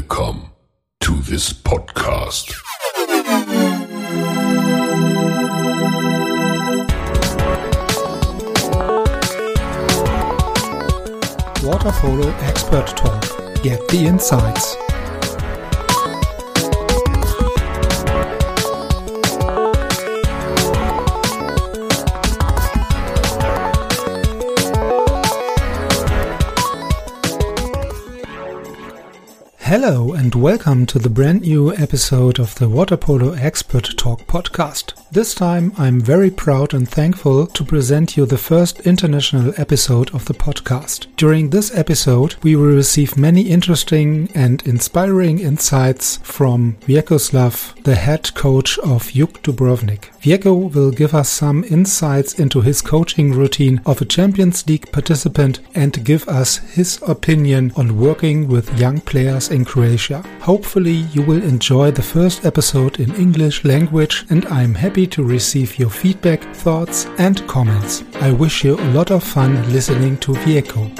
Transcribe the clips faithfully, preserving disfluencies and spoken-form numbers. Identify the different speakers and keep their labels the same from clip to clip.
Speaker 1: Welcome to this podcast.
Speaker 2: Water Polo Expert Talk. Get the insights. Hello and welcome to the brand new episode of the Water Polo Expert Talk podcast. This time I'm very proud and thankful to present you the first international episode of the podcast. During this episode we will receive many interesting and inspiring insights from Vjekoslav, the head coach of Juk Dubrovnik. Vjeko will give us some insights into his coaching routine of a Champions League participant and give us his opinion on working with young players in Croatia. Hopefully you will enjoy the first episode in English language and I'm happy to receive your feedback, thoughts and comments. I wish you a lot of fun listening to Vjeko.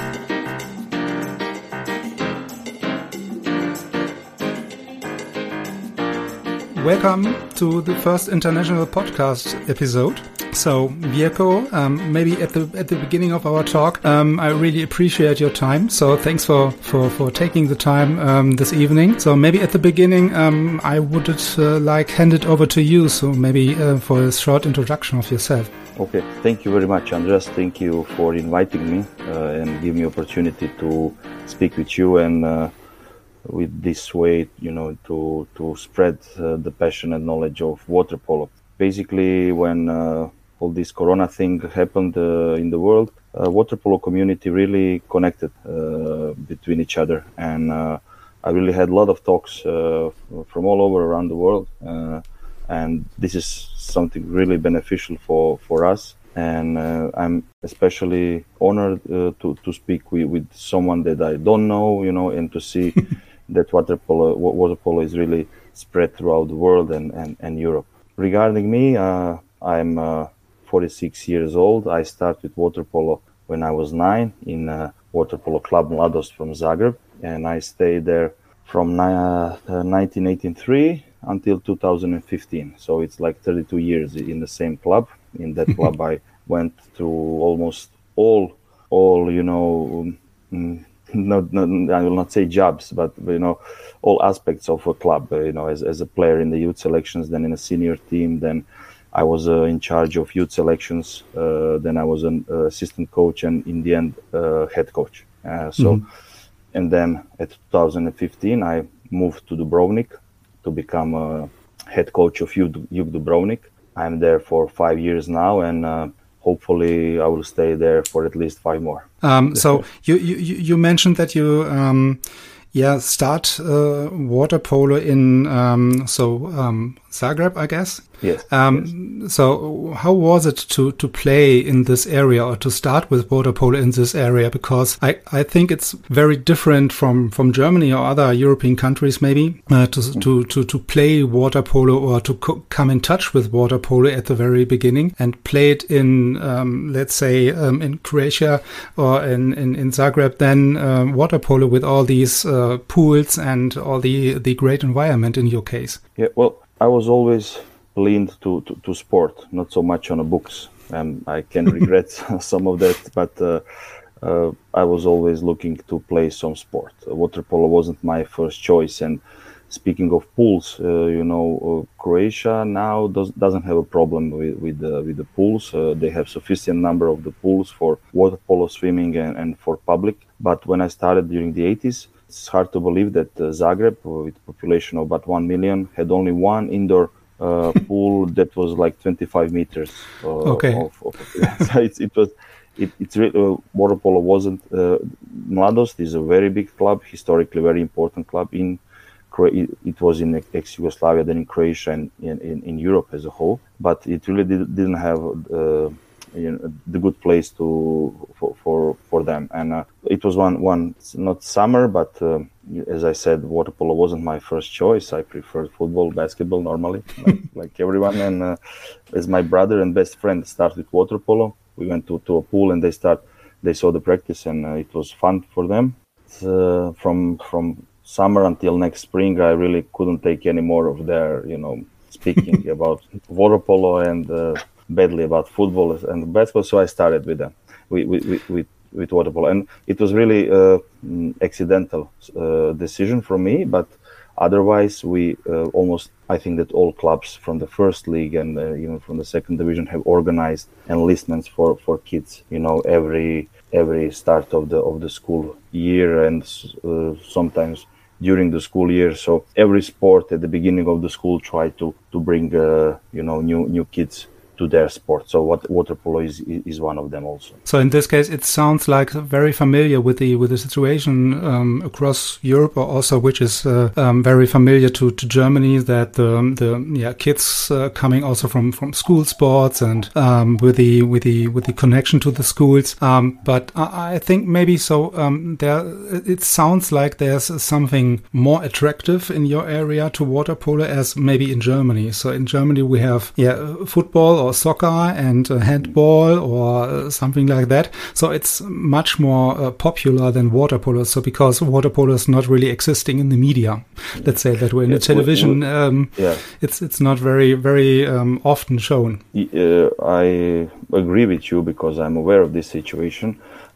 Speaker 2: Welcome to the first international podcast episode. So, Vjeko, um, maybe at the at the beginning of our talk, um, I really appreciate your time. So, thanks for for, for taking the time um, this evening. So, maybe at the beginning, um, I would uh, like hand it over to you. So, maybe uh, for a short introduction of yourself.
Speaker 3: Okay, thank you very much, Andreas. Thank you for inviting me uh, and giving me opportunity to speak with you and. Uh, with this way, you know, to to spread uh, the passion and knowledge of water polo. Basically, when uh, all this corona thing happened uh, in the world, uh, water polo community really connected uh, between each other. And uh, I really had a lot of talks uh, from all over around the world. Uh, and this is something really beneficial for, for us. And uh, I'm especially honored uh, to, to speak with, with someone that I don't know, you know, and to see that water polo, water polo is really spread throughout the world and, and, and Europe. Regarding me, uh, I'm uh, forty-six years old. I started water polo when I was nine in uh, Water Polo Club Mladost from Zagreb. And I stayed there from uh, nineteen eighty-three until two thousand fifteen. So it's like thirty-two years in the same club. In that club, I went through almost all, all you know, um, not, not, I will not say jobs, but you know, all aspects of a club. Uh, you know, as as a player in the youth selections, then in a senior team, then I was uh, in charge of youth selections. Uh, then I was an uh, assistant coach, and in the end, uh, head coach. Uh, so, mm-hmm. And then at two thousand fifteen, I moved to Dubrovnik to become a head coach of Juk Dubrovnik. I'm there for five years now, and uh, hopefully I will stay there for at least five more.
Speaker 2: Um, so you, you you mentioned that you um, yeah start uh, water polo in um, so um, Zagreb, I guess.
Speaker 3: Yes,
Speaker 2: um,
Speaker 3: yes.
Speaker 2: So how was it to, to play in this area or to start with water polo in this area? Because I, I think it's very different from, from Germany or other European countries maybe uh, to, mm. to, to, to play water polo or to co- come in touch with water polo at the very beginning and play it in, um, let's say, um, in Croatia or in, in, in Zagreb, then um, water polo with all these uh, pools and all the, the great environment in your case.
Speaker 3: Yeah, well, I was always leaned to, to, to sport, not so much on the books. Um, I can regret some of that, but uh, uh, I was always looking to play some sport. Uh, water polo wasn't my first choice. And speaking of pools, uh, you know, uh, Croatia now does, doesn't have a problem with with, uh, with the pools. Uh, they have sufficient number of the pools for water polo, swimming, and, and for public. But when I started during the eighties, it's hard to believe that uh, Zagreb, with a population of about one million, had only one indoor Uh, pool that was like twenty-five meters. Uh,
Speaker 2: okay.
Speaker 3: Of, of, so it's, it was, it, it's really, uh, water polo wasn't, uh, Mladost is a very big club, historically very important club in, it, it was in ex-Yugoslavia, then in Croatia and in, in, in Europe as a whole, but it really did, didn't have, uh, you know, the good place to, for, for, for them. And uh, it was one, one, not summer, but uh, as I said, water polo wasn't my first choice. I preferred football, basketball normally, like, like everyone. And uh, as my brother and best friend started with water polo, we went to, to a pool and they start, they saw the practice and uh, it was fun for them. Uh, from from summer until next spring, I really couldn't take any more of their, you know, speaking about water polo and uh, badly about football and basketball. So I started with them, with with with, with water polo, and it was really uh, accidental uh, decision from me. But otherwise, we uh, almost, I think that all clubs from the first league and uh, even from the second division have organized enlistments for, for kids. You know, every every start of the of the school year and uh, sometimes during the school year. So every sport at the beginning of the school try to to bring uh, you know new new kids to their sport. So what water polo is is one of them also.
Speaker 2: So in this case, it sounds like very familiar with the with the situation um, across Europe, or also which is uh, um, very familiar to, to Germany. That the the yeah kids uh, coming also from, from school sports and um, with the with the with the connection to the schools. Um, but I, I think maybe so. Um, there it sounds like there's something more attractive in your area to water polo as maybe in Germany. So in Germany we have yeah football or soccer and uh, handball or uh, something like that. So it's much more uh, popular than water polo. So because water polo is not really existing in the media, let's say that way, in
Speaker 3: yeah,
Speaker 2: the television,
Speaker 3: we, we,
Speaker 2: um,
Speaker 3: yeah.
Speaker 2: it's it's not very very um, often shown.
Speaker 3: Uh, I agree with you because I'm aware of this situation.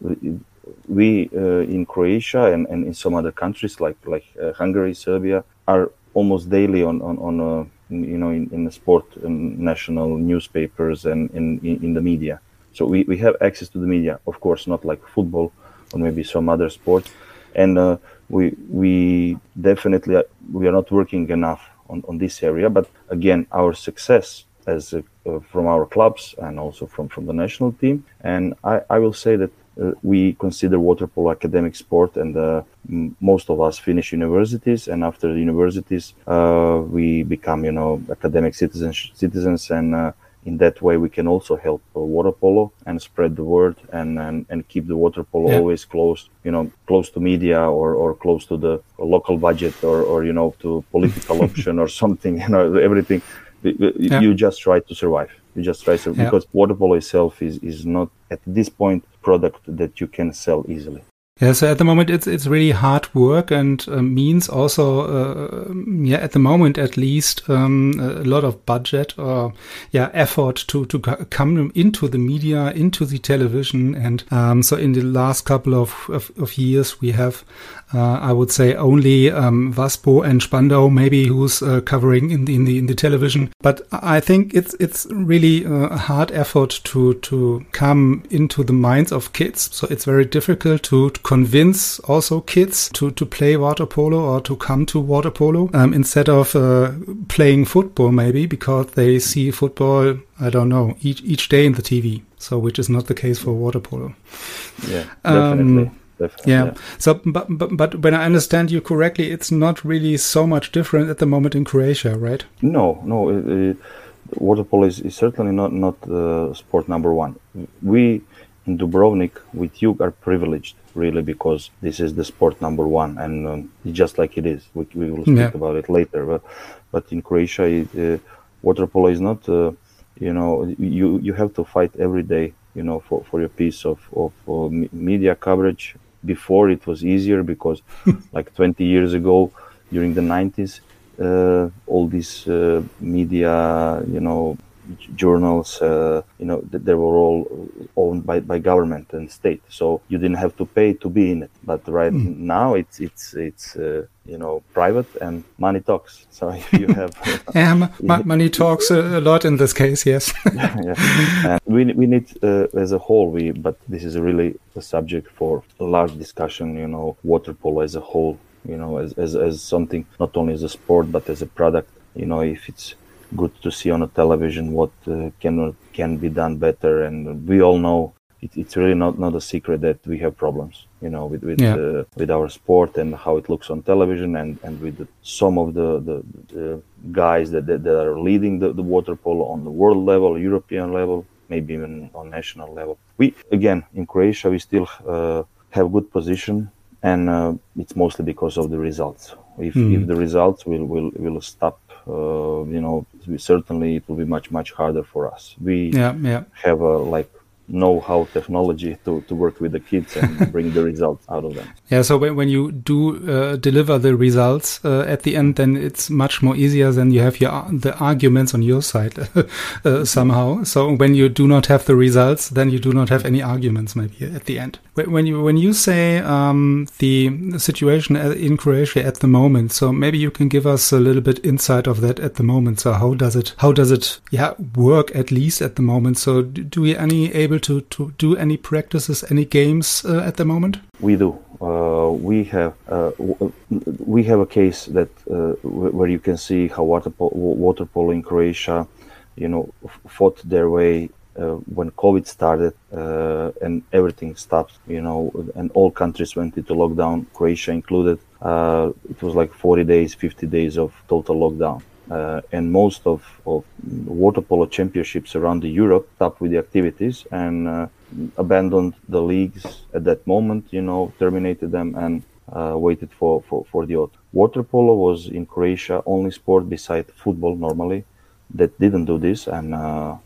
Speaker 3: We uh, in Croatia and, and in some other countries like like uh, Hungary, Serbia are almost daily on on on. Uh, you know, in, in the sport and national newspapers and in, in, in the media. So we, we have access to the media, of course, not like football or maybe some other sports. And uh, we we definitely, uh, we are not working enough on, on this area. But again, our success as a, uh, from our clubs and also from, from the national team. And I, I will say that uh, we consider water polo academic sport, and uh, m- most of us finish universities, and after the universities uh, we become, you know, academic citizens citizens and uh, in that way we can also help uh, water polo and spread the word and and, and keep the water polo yeah. always close, you know, close to media or, or close to the local budget or, or you know, to political option or something, you know, everything. Yeah. You just try to survive. You just try to, yeah. because water polo itself is, is not at this point product that you can sell easily.
Speaker 2: Yeah, so at the moment it's it's really hard work and uh, means also, uh, yeah, at the moment at least, um, a lot of budget or yeah effort to to come into the media, into the television, and um, so in the last couple of of, of years we have, uh, I would say, only um, Waspo and Spandau maybe who's uh, covering in the in the in the television, but I think it's it's really a hard effort to to come into the minds of kids. So it's very difficult to, to convince also kids to, to play water polo or to come to water polo um, instead of uh, playing football maybe, because they see football, I don't know, each each day in the T V. So which is not the case for water polo.
Speaker 3: Yeah, definitely.
Speaker 2: Um, Definitely, yeah. yeah. So, but, but but when I understand you correctly, it's not really so much different at the moment in Croatia, right?
Speaker 3: No, no. It, it, water polo is, is certainly not not uh, sport number one. We in Dubrovnik with you are privileged, really, because this is the sport number one, and um, just like it is. We, we will speak
Speaker 2: yeah.
Speaker 3: about it later. But but in Croatia, it, uh, water polo is not. Uh, you know, you you have to fight every day. You know, for, for your piece of of uh, media coverage. Before it was easier because, like twenty years ago, during the nineties, uh, all these uh, media, you know, journals, uh, you know, th- they were all owned by, by government and state, so you didn't have to pay to be in it. But right mm. now, it's it's it's uh, you know, private and money talks. So if you have,
Speaker 2: yeah, m- m- money talks a lot in this case, yes.
Speaker 3: yeah, yeah. And we we need uh, as a whole. We but this is really a subject for a large discussion. You know, water polo as a whole. You know, as as as something not only as a sport but as a product. You know, if it's good to see on a television what uh, can can be done better, and we all know it, it's really not, not a secret that we have problems, you know, with with,
Speaker 2: yeah.
Speaker 3: uh, with our sport and how it looks on television, and and with the, some of the the, the guys that, that that are leading the, the water polo on the world level, European level, maybe even on national level. We again in Croatia we still uh, have good position, and uh, it's mostly because of the results. If mm. if the results will will will stop. Uh, you know, we certainly it will be much much harder for us. We
Speaker 2: yeah, yeah.
Speaker 3: have a like know how technology to, to work with the kids and bring the results out of them.
Speaker 2: Yeah, so when, when you do uh, deliver the results uh, at the end, then it's much more easier than you have your the arguments on your side uh, somehow. So when you do not have the results, then you do not have any arguments maybe at the end. When you when you say um, the situation in Croatia at the moment, so maybe you can give us a little bit insight of that at the moment. So how does it how does it yeah work at least at the moment? So do we any able to to do any practices, any games uh, at the moment?
Speaker 3: We do. Uh, we have uh, w- we have a case that uh, w- where you can see how water polo, water polo in Croatia, you know, f- fought their way uh, when COVID started uh, and everything stopped, you know, and all countries went into lockdown, Croatia included. Uh, it was like forty days, fifty days of total lockdown. Uh, and most of, of water polo championships around the Europe stopped with the activities and uh, abandoned the leagues at that moment, you know, terminated them and uh, waited for, for, for the autumn. Water polo was in Croatia only sport beside football normally that didn't do this, and uh,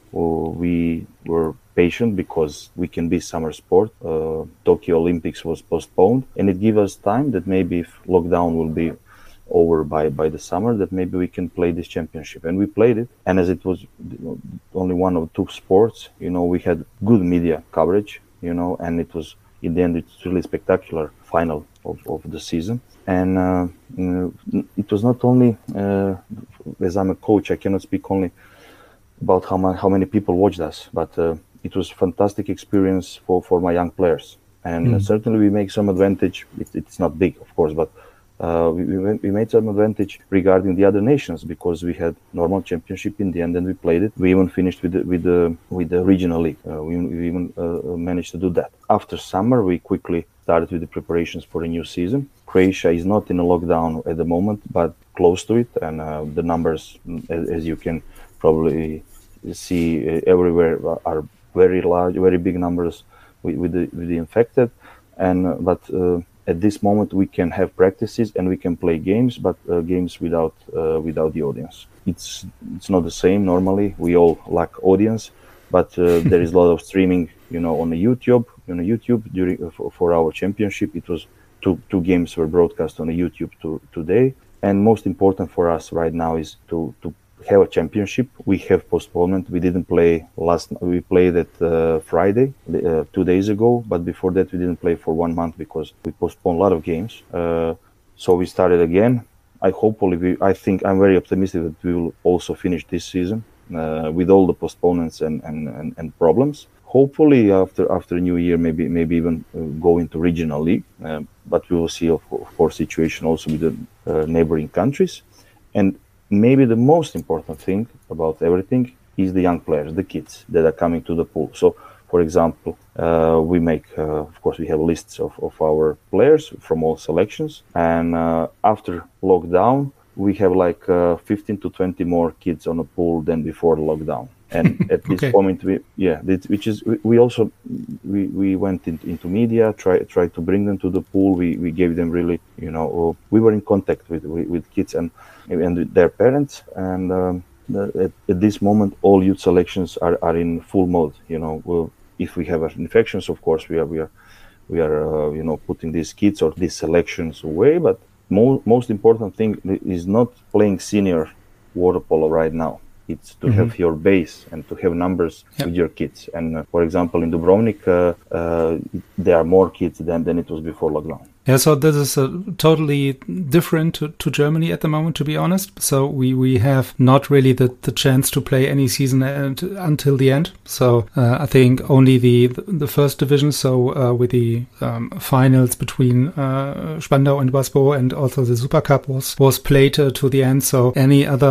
Speaker 3: we were patient because we can be summer sport. Uh, Tokyo Olympics was postponed, and it gave us time that maybe if lockdown will be over by, by the summer, that maybe we can play this championship. And we played it. And as it was only one of two sports, you know, we had good media coverage, you know, and it was, in the end, it's really spectacular final of, of the season. And uh, you know, it was not only, uh, as I'm a coach, I cannot speak only about how, ma- how many people watched us, but uh, it was a fantastic experience for, for my young players. And mm. uh, certainly we make some advantage. It, it's not big, of course, but Uh, we, we made some advantage regarding the other nations because we had normal championship in the end and we played it. We even finished with the, with the, with the regional league. Uh, we, we even uh, managed to do that. After summer, we quickly started with the preparations for the new season. Croatia is not in a lockdown at the moment, but close to it. And uh, the numbers, as, as you can probably see uh, everywhere, are very large, very big numbers with, with, the, with the infected. And uh, but uh, at this moment, we can have practices and we can play games, but uh, games without uh, without the audience. It's it's not the same normally. We all lack audience, but uh, there is a lot of streaming, you know, on the YouTube. On the YouTube during uh, for, for our championship, it was two two games were broadcast on the YouTube to, today. And most important for us right now is to to have a championship. We have postponement. We didn't play last. We played it uh, Friday, uh, two days ago. But before that, we didn't play for one month because we postponed a lot of games. Uh, so we started again. I hopefully, we, I think I'm very optimistic that we will also finish this season uh, with all the postponements and, and, and, and problems. Hopefully, after after New Year, maybe maybe even uh, go into regional league. Uh, but we will see, of, of course, situation also with the uh, neighboring countries. And maybe the most important thing about everything is the young players, the kids that are coming to the pool. So, for example, uh, we make, uh, of course, we have lists of, of our players from all selections. And uh, after lockdown, we have like uh, fifteen to twenty more kids on the pool than before the lockdown. And at this okay. moment, we yeah, this, which is we, we also we, we went in, into media, try try to bring them to the pool. We we gave them really, you know, we were in contact with with, with kids and and with their parents. And um, the, at, at this moment, all youth selections are, are in full mode. You know, we'll, if we have infections, of course, we are we are we are uh, you know putting these kids or these selections away. But mo- most important thing is not playing senior water polo right now. It's to mm-hmm. have your base and to have numbers yep. with your kids. And uh, for example, in Dubrovnik, uh, uh, there are more kids than, than it was before lockdown.
Speaker 2: Yeah, so this is uh, totally different to, to Germany at the moment, to be honest. So we, we have not really the, the chance to play any season at, until the end. So uh, I think only the the first division, so uh, with the um, finals between uh, Spandau and Basbo and also the Super Cup was, was played uh, to the end. So any other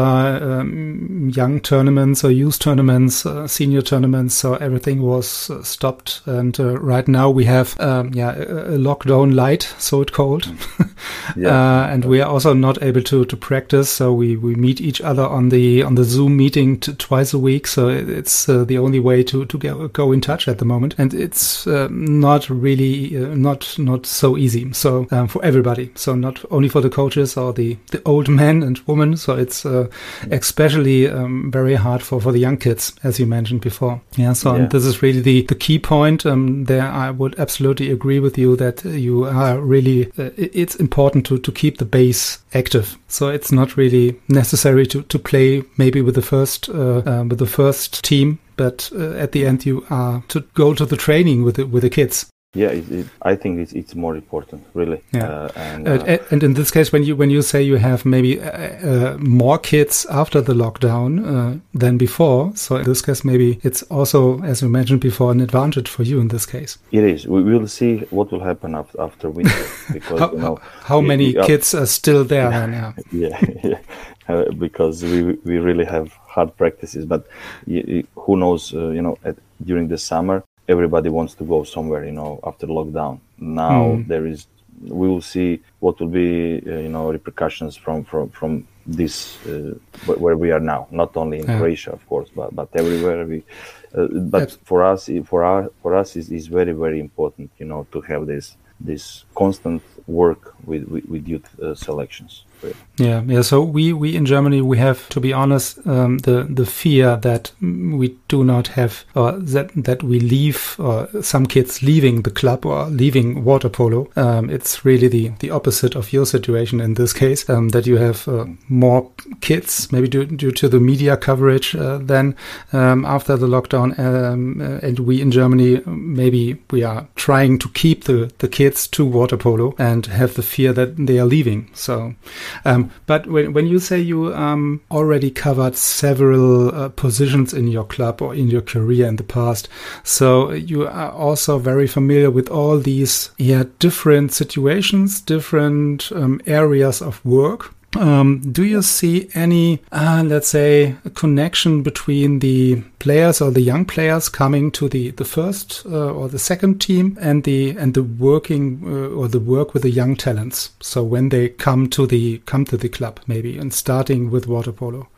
Speaker 2: um, young tournaments or youth tournaments, uh, senior tournaments, so everything was uh, stopped. And uh, right now we have um, yeah a, a lockdown light, so cold.
Speaker 3: Yeah.
Speaker 2: uh, and we are also not able to, to practice. So we, we meet each other on the on the Zoom meeting t- twice a week. So it's uh, the only way to, to go, go in touch at the moment. And it's uh, not really uh, not not so easy. So um, for everybody. So not only for the coaches or the, the old men and women. So it's uh, especially um, very hard for, for the young kids, as you mentioned before. Yeah. So
Speaker 3: Yeah.
Speaker 2: And this is really the, the key point. Um, there, I would absolutely agree with you that you are really. Uh, it's important to, to keep the base active. So it's not really necessary to, to play maybe with the first uh, uh, with the first team, but uh, at the end you are to go to the training with the, with the kids.
Speaker 3: Yeah, it, it, I think it's it's more important, really.
Speaker 2: Yeah.
Speaker 3: Uh, and,
Speaker 2: Uh,
Speaker 3: uh,
Speaker 2: and in this case, when you when you say you have maybe uh, uh, more kids after the lockdown uh, than before, so in this case maybe it's also, as you mentioned before, an advantage for you in this case.
Speaker 3: it is. We will see what will happen after, after winter, because
Speaker 2: How,
Speaker 3: you know
Speaker 2: how
Speaker 3: we-
Speaker 2: many
Speaker 3: we are-
Speaker 2: kids are still there? Then, yeah.
Speaker 3: yeah, yeah. Uh, because we we really have hard practices. But y- y- who knows? Uh, you know, at, during the summer, everybody wants to go somewhere. You know, after lockdown. Now
Speaker 2: Mm.
Speaker 3: there is. We will see what will be, uh, you know, repercussions from from from this uh, wh- where we are now. Not only in
Speaker 2: Yeah.
Speaker 3: Croatia, of course, but but everywhere. We, uh, but
Speaker 2: Abs-
Speaker 3: for us, i- for our for us, is is very very important. You know, to have this this constant work with with, with youth uh, selections.
Speaker 2: Yeah, yeah. So we, we in Germany, we have, to be honest, um, the the fear that mm, we do not have, or that that we leave, or some kids leaving the club or leaving water polo. Um, it's really the the opposite of your situation in this case. Um, that you have uh, more kids, maybe due, due to the media coverage uh, than um, after the lockdown. Um, uh, and we in Germany, maybe we are trying to keep the the kids to water polo and have the fear that they are leaving. So. Um, but when, when you say you um, already covered several uh, positions in your club or in your career in the past, so you are also very familiar with all these yeah, different situations, different um, areas of work. Um, do you see any, uh, let's say, a connection between the players or the young players coming to the the first uh, or the second team and the and the working uh, or the work with the young talents? So when they come to the come to the club, maybe, and starting with water polo.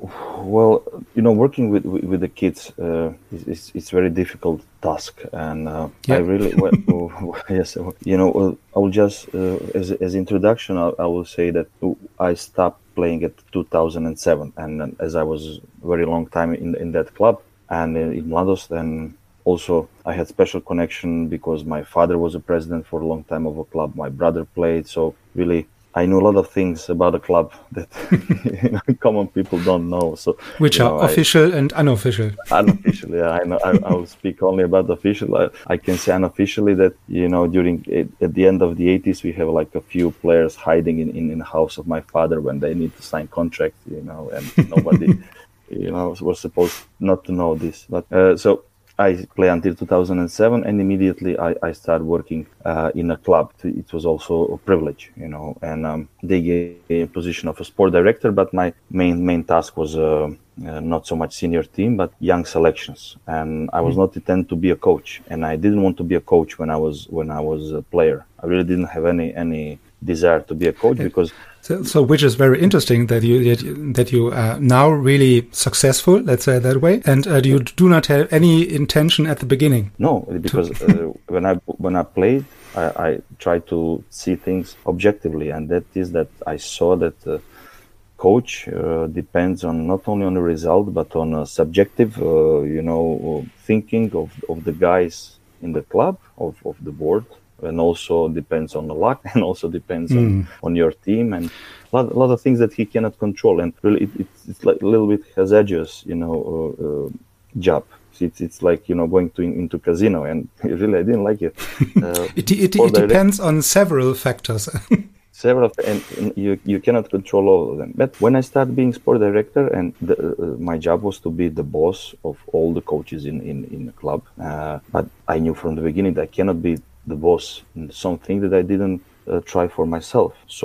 Speaker 3: Well, you know, working with with, with the kids uh, is, is it's very difficult task, and uh,
Speaker 2: Yeah.
Speaker 3: I really well, yes, you know, uh, I will just uh, as as introduction, I, I will say that I stopped playing at two thousand seven, and uh, as I was very long time in in that club and in, in Mladost, and also I had special connection because my father was a president for a long time of a club. My brother played, so really. I know a lot of things about the club that you know, common people don't know. So,
Speaker 2: Which
Speaker 3: you
Speaker 2: are
Speaker 3: know, I-
Speaker 2: official and unofficial.
Speaker 3: unofficially, yeah, I know. I, I will speak only about the official. I, I can say unofficially that you know during at the end of the eighties we have like a few players hiding in, in, in the house of my father when they need to sign contract, you know, and nobody, you know, was supposed not to know this. But uh, so I play until two thousand seven, and immediately I, I started working uh, in a club. It was also a privilege, you know, and um, they gave me a position of a sport director, but my main main task was uh, uh, not so much senior team, but young selections. And I was not intended to be a coach, and I didn't want to be a coach when I was when I was a player. I really didn't have any any desire to be a coach because.
Speaker 2: So, so which is very interesting that you that you, that you are now really successful, let's say it that way, and uh, you do not have any intention at the beginning.
Speaker 3: No, because uh, when I when I played, I, I tried to see things objectively, and that is that I saw that uh, coach uh, depends on not only on the result but on a subjective, uh, you know, thinking of of the guys in the club, of of the board. And also depends on the luck, and also depends
Speaker 2: Mm.
Speaker 3: on, on your team, and a lot, a lot of things that he cannot control. And really, it, it's, it's like a little bit hazardous, you know, uh, uh, job. It's it's like you know going to into casino, and really I didn't like it. Uh,
Speaker 2: It, it,
Speaker 3: sport
Speaker 2: it
Speaker 3: direct-
Speaker 2: depends on several factors.
Speaker 3: several, and, and you you cannot control all of them. But when I started being sport director, and the, uh, my job was to be the boss of all the coaches in in, in the club. Uh, but I knew from the beginning that I cannot be the boss in something that I didn't uh, try for myself. So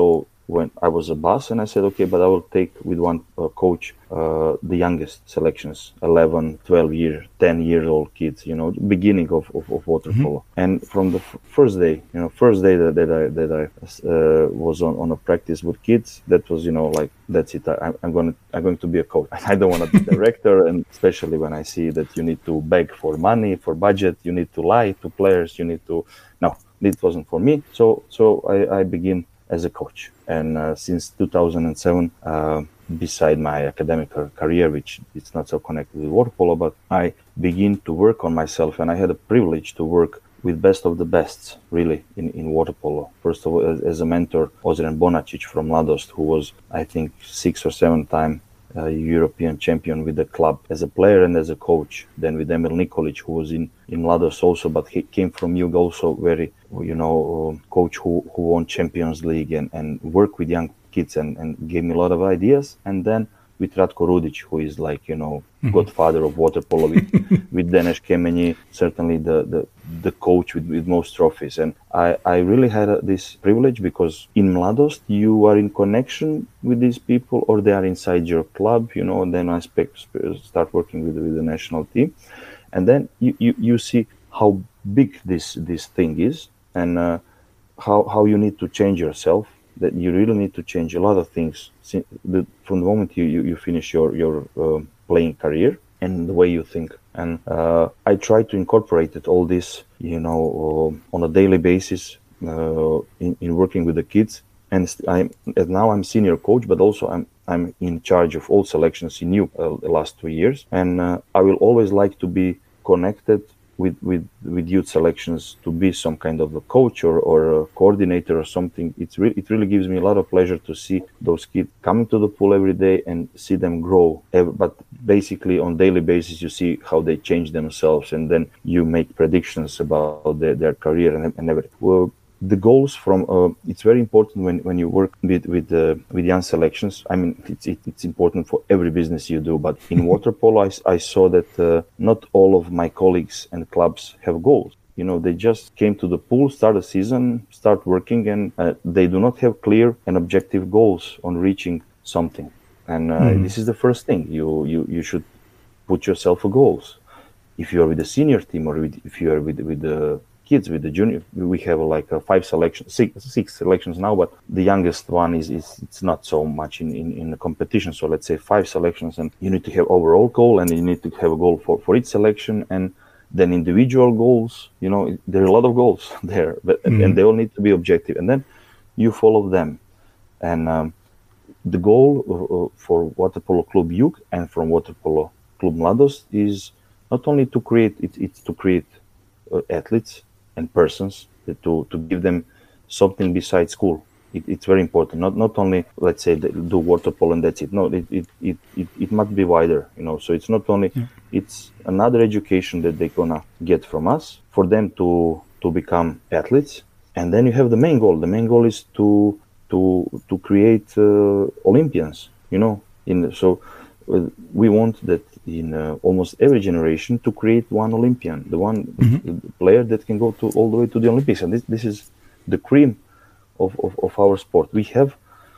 Speaker 3: when I was a boss, and I said, okay, but I will take with one uh, coach uh, the youngest selections, eleven, twelve years, ten years old kids, you know, beginning of, of, of water polo. Mm-hmm. And from the f- first day, you know, first day that, that I that I uh, was on, on a practice with kids, that was, you know, like, that's it. I, I'm going to I'm going to be a coach. I don't want to be director, and especially when I see that you need to beg for money, for budget, you need to lie to players, you need to, no, it wasn't for me. So so I, I begin as a coach, and uh, since two thousand seven, uh, beside my academic career, which is not so connected with water polo, but I begin to work on myself, and I had a privilege to work with best of the bests, really, in, in water polo. First of all, as, as a mentor, Ozren Bonacic from Mladost, who was, I think, six or seven time uh, European champion with the club as a player and as a coach. Then with Emil Nikolic, who was in, in Mladost also, but he came from Jug, also very, you know, uh, coach who, who won Champions League and, and worked with young kids and, and gave me a lot of ideas. And then with Ratko Rudic, who is like, you know, mm-hmm. godfather of water polo, with, with Deneš Kemenyi, certainly the, the, the coach with, with most trophies. And I, I really had a, this privilege, because in Mladost, you are in connection with these people, or they are inside your club, you know, and then I spe- start working with, with the national team. And then you, you, you see how big this, this thing is, and uh, how, how you need to change yourself, that you really need to change a lot of things from the moment you, you, you finish your, your uh, playing career, and the way you think. And uh, I try to incorporate it, all this, you know, uh, on a daily basis uh, in, in working with the kids. And I'm, and now I'm senior coach, but also I'm I'm in charge of all selections in Jug uh, the last two years. And uh, I will always like to be connected with, with, with youth selections, to be some kind of a coach or, or a coordinator or something. It's re- it really gives me a lot of pleasure to see those kids coming to the pool every day and see them grow. But basically on daily basis, you see how they change themselves, and then you make predictions about their, their career and, and everything. Well, the goals from uh, it's very important when, when you work with with uh, with young selections. I mean, it's it, it's important for every business you do, but in water polo, I, I saw that uh, not all of my colleagues and clubs have goals. You know, they just came to the pool, start a season, start working, and uh, they do not have clear and objective goals on reaching something. And uh, mm. this is the first thing. You you you should put yourself a goals. If you are with the senior team, or with, if you are with with the kids, with the junior, we have like a five selections, six, six selections now, but the youngest one is, is it's not so much in, in, in the competition. So let's say five selections, and you need to have overall goal, and you need to have a goal for, for each selection, and then individual goals. You know, there are a lot of goals there, but mm. and they all need to be objective, and then you follow them. And um, the goal uh, for Water Polo Club Jug and from Water Polo Club Mladost is not only to create, it, it's to create uh, athletes and persons, to to give them something besides school. It, it's very important. Not not only, let's say, do water polo and that's it. No, it it, it, it it must be wider. You know, so it's not only yeah. it's another education that they're gonna get from us for them to to become athletes. And then you have the main goal. The main goal is to to to create uh, Olympians. You know, in so uh, we want that in uh, almost every generation to create one Olympian, the one mm-hmm. player that can go to all the way to the Olympics. And this this is the cream of, of, of our sport. We have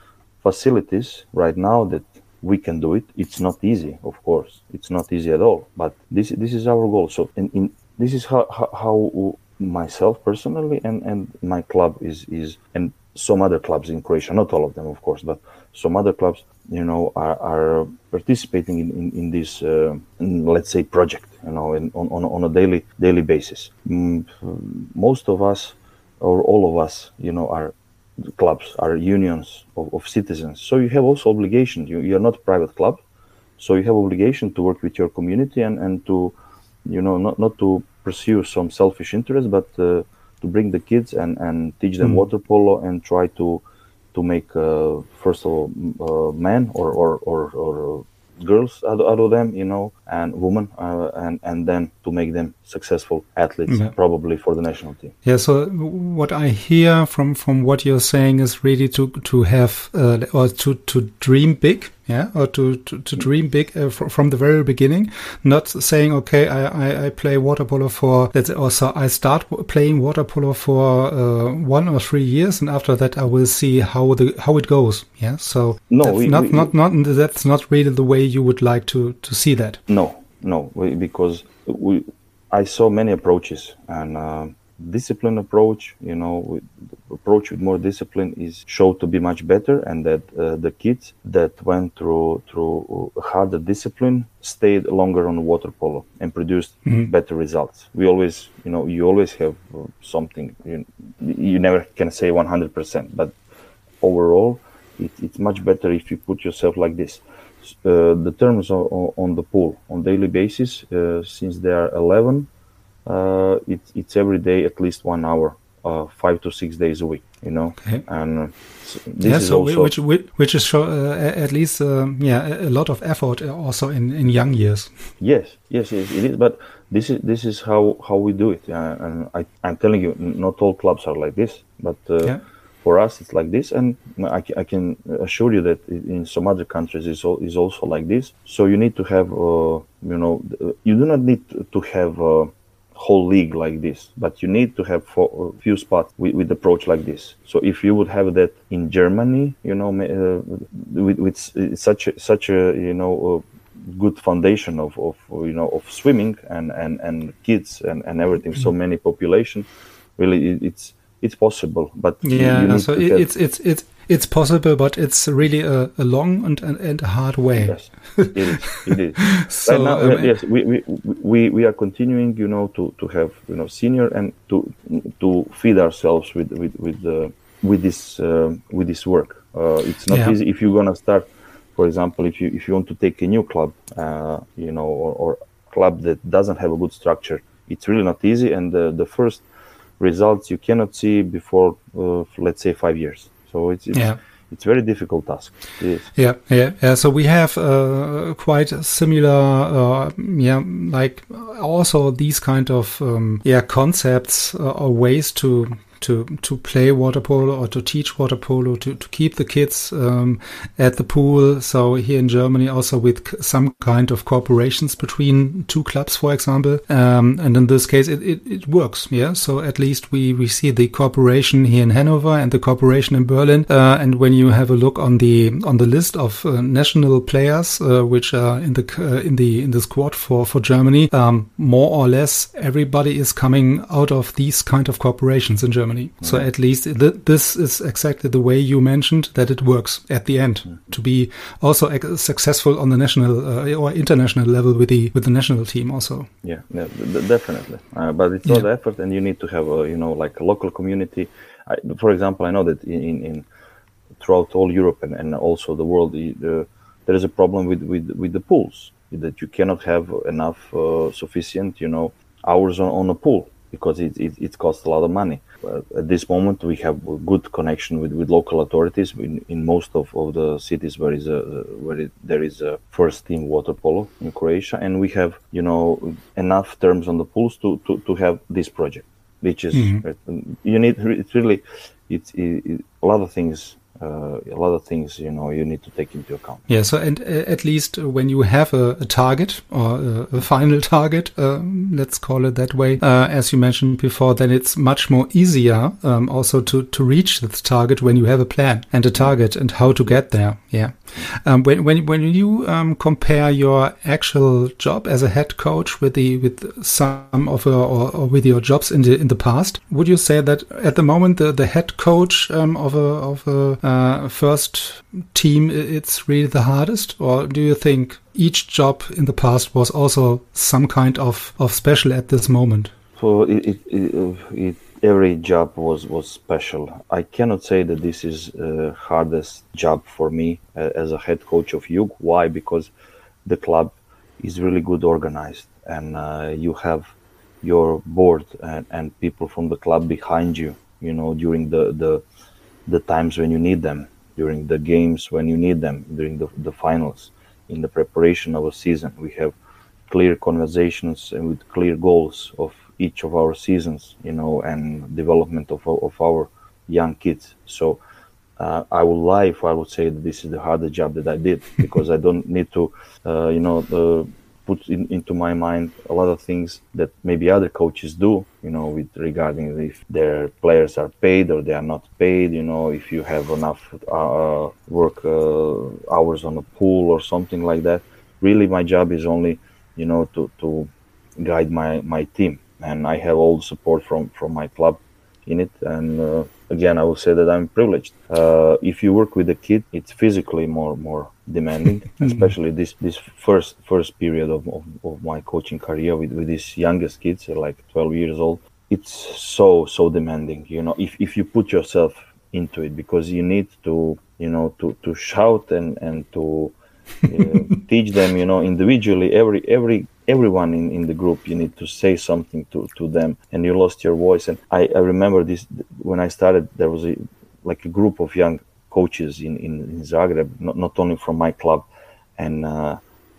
Speaker 3: facilities right now that we can do it. It's not easy, of course. It's not easy at all. But this this is our goal. So in, in this is how, how how myself personally and, and my club is is and some other clubs in Croatia, not all of them, of course, but some other clubs, you know, are, are participating in, in, in this, uh, in, let's say, project, you know, in, on, on, on a daily daily basis. Mm, most of us, or all of us, you know, are clubs, are unions of, of citizens. So you have also obligation. You, you're not a private club, so you have obligation to work with your community and, and to, you know, not, not to pursue some selfish interest, but uh, to bring the kids and, and teach them mm. water polo and try to to make uh, first of all uh, men or or, or, or girls out, out of them, you know, and women, uh, and and then to make them successful athletes, yeah. probably for the national team.
Speaker 2: Yeah. So what I hear from, from what you're saying is really to to have uh, or to to dream big yeah, or to, to, to dream big uh, fr- from the very beginning, not saying, okay, I, I, I play water polo for, let's say, also I start w- playing water polo for uh, one or three years, and after that I will see how the how it goes. Yeah, so
Speaker 3: No,
Speaker 2: that's
Speaker 3: we-
Speaker 2: not,
Speaker 3: we-
Speaker 2: not, not, that's not really the way you would like to, to see that.
Speaker 3: No, no, we, because we, I saw many approaches, and uh, discipline approach, you know, with, approach with more discipline is showed to be much better, and that uh, the kids that went through through harder discipline stayed longer on water polo and produced
Speaker 2: Mhm.
Speaker 3: better results. We always, you know, you always have uh, something. You, you never can say one hundred percent, but overall, it, it's much better if you put yourself like this. Uh, the terms on, on the pool on daily basis, uh, since they are eleven, uh, it, it's every day at least one hour, uh, five to six days a week, you know.
Speaker 2: Okay.
Speaker 3: And uh, so this
Speaker 2: Yeah,
Speaker 3: is
Speaker 2: so
Speaker 3: also
Speaker 2: which which which is show, uh, at least um, yeah a lot of effort also in, in young years.
Speaker 3: yes, yes, yes, it is. But this is this is how, how we do it. Uh, and I, I'm telling you, not all clubs are like this, but uh,
Speaker 2: Yeah.
Speaker 3: for us it's like this, and I, ca- I can assure you that in some other countries is al- is also like this. So you need to have, uh, you know, uh, you do not need to have a whole league like this, but you need to have for a few spots with, with approach like this. So if you would have that in Germany, you know, ma- uh, with, with s- such a, such a you know. Uh, good foundation of, of you know of swimming and, and, and kids and, and everything, so many population, really it, it's it's possible, but you-
Speaker 2: Yeah,
Speaker 3: you need
Speaker 2: so
Speaker 3: to
Speaker 2: it,
Speaker 3: have-
Speaker 2: it's it's it's it's possible, but it's really a, a long and, and, and a hard way.
Speaker 3: yes, it is it is
Speaker 2: So,
Speaker 3: right now.
Speaker 2: um,
Speaker 3: uh, yes, we, we we we are continuing, you know, to, to have, you know, senior and to to feed ourselves with with with uh, with this uh, with this work. Uh, it's not
Speaker 2: Yeah.
Speaker 3: easy if you're gonna start. For example, if you if you want to take a new club, uh, you know, or, or club that doesn't have a good structure, it's really not easy. And the, the first results you cannot see before, uh, let's say, five years. So it's it's,
Speaker 2: Yeah.
Speaker 3: it's very difficult task. It is.
Speaker 2: Yeah, yeah, yeah. So we have uh, quite similar, uh, yeah, like also these kind of um, yeah concepts uh, or ways to. To, to play water polo or to teach water polo, to, to keep the kids um, at the pool. So here in Germany also with c- some kind of cooperations between two clubs, for example. Um, and in this case, it, it, it works. Yeah. So at least we, we see the cooperation here in Hanover and the cooperation in Berlin. Uh, and when you have a look on the on the list of uh, national players uh, which are in the uh, in the in the squad for for Germany, um, more or less everybody is coming out of these kind of cooperations in Germany. So at least th- this is exactly the way you mentioned that it works at the end to be also ex- successful on the national uh, or international level with the with the national team also.
Speaker 3: Yeah, yeah, d- d- definitely. Uh, but it's
Speaker 2: Yeah.
Speaker 3: all the effort, and you need to have a, you know, like a local community. I, for example, I know that in, in, in throughout all Europe and, and also the world, the, the, there is a problem with, with, with the pools, that you cannot have enough uh, sufficient, you know, hours on, on a pool, because it, it, it costs a lot of money. Uh, at this moment, we have a good connection with, with local authorities in, in most of, of the cities where is a where it, there is a first team water polo in Croatia, and we have, you know, enough terms on the pools to, to, to have this project, which is uh, you need. It's really it's it, it, a lot of things. Uh, a lot of things, you know, you need to take into account.
Speaker 2: Yeah, so and uh, at least when you have a, a target or a, a final target, um, let's call it that way, uh, as you mentioned before, then it's much more easier um, also to, to reach this target when you have a plan and a target and how to get there. Yeah. Um, when when when you um, compare your actual job as a head coach with the with some of your, or, or with your jobs in the in the past, would you say that at the moment the, the head coach um, of a of a uh, first team it's really the hardest, or do you think each job in the past was also some kind of, of special at this moment?
Speaker 3: So it, it, it, it every job was, was special. I cannot say that this is the hardest job for me uh, as a head coach of Jug. Why? Because the club is really good organized, and uh, you have your board and, and people from the club behind you, you know, during the, the, the times when you need them, during the games when you need them, during the, the finals, in the preparation of a season. We have clear conversations and with clear goals of each of our seasons, you know, and development of of our young kids. So uh, I would lie if I would say that this is the hardest job that I did, because I don't need to, uh, you know, uh, put in, into my mind a lot of things that maybe other coaches do, you know, with regarding if their players are paid or they are not paid, you know, if you have enough uh, work uh, hours on a pool or something like that. Really, my job is only, you know, to, to guide my, my team. And I have all the support from, from my club in it. And uh, again, I will say that I'm privileged. Uh, if you work with a kid, it's physically more more demanding, especially this this first first period of, of, of my coaching career with, with these youngest kids, like twelve years old. It's so so demanding, you know, if, if you put yourself into it, because you need to, you know, to, to shout and, and to uh, teach them, you know, individually, every every everyone in, in the group, you need to say something to, to them, and you lost your voice. And I, I remember this, when I started, there was a, like a group of young coaches in, in, in Zagreb, not, not only from my club. And uh,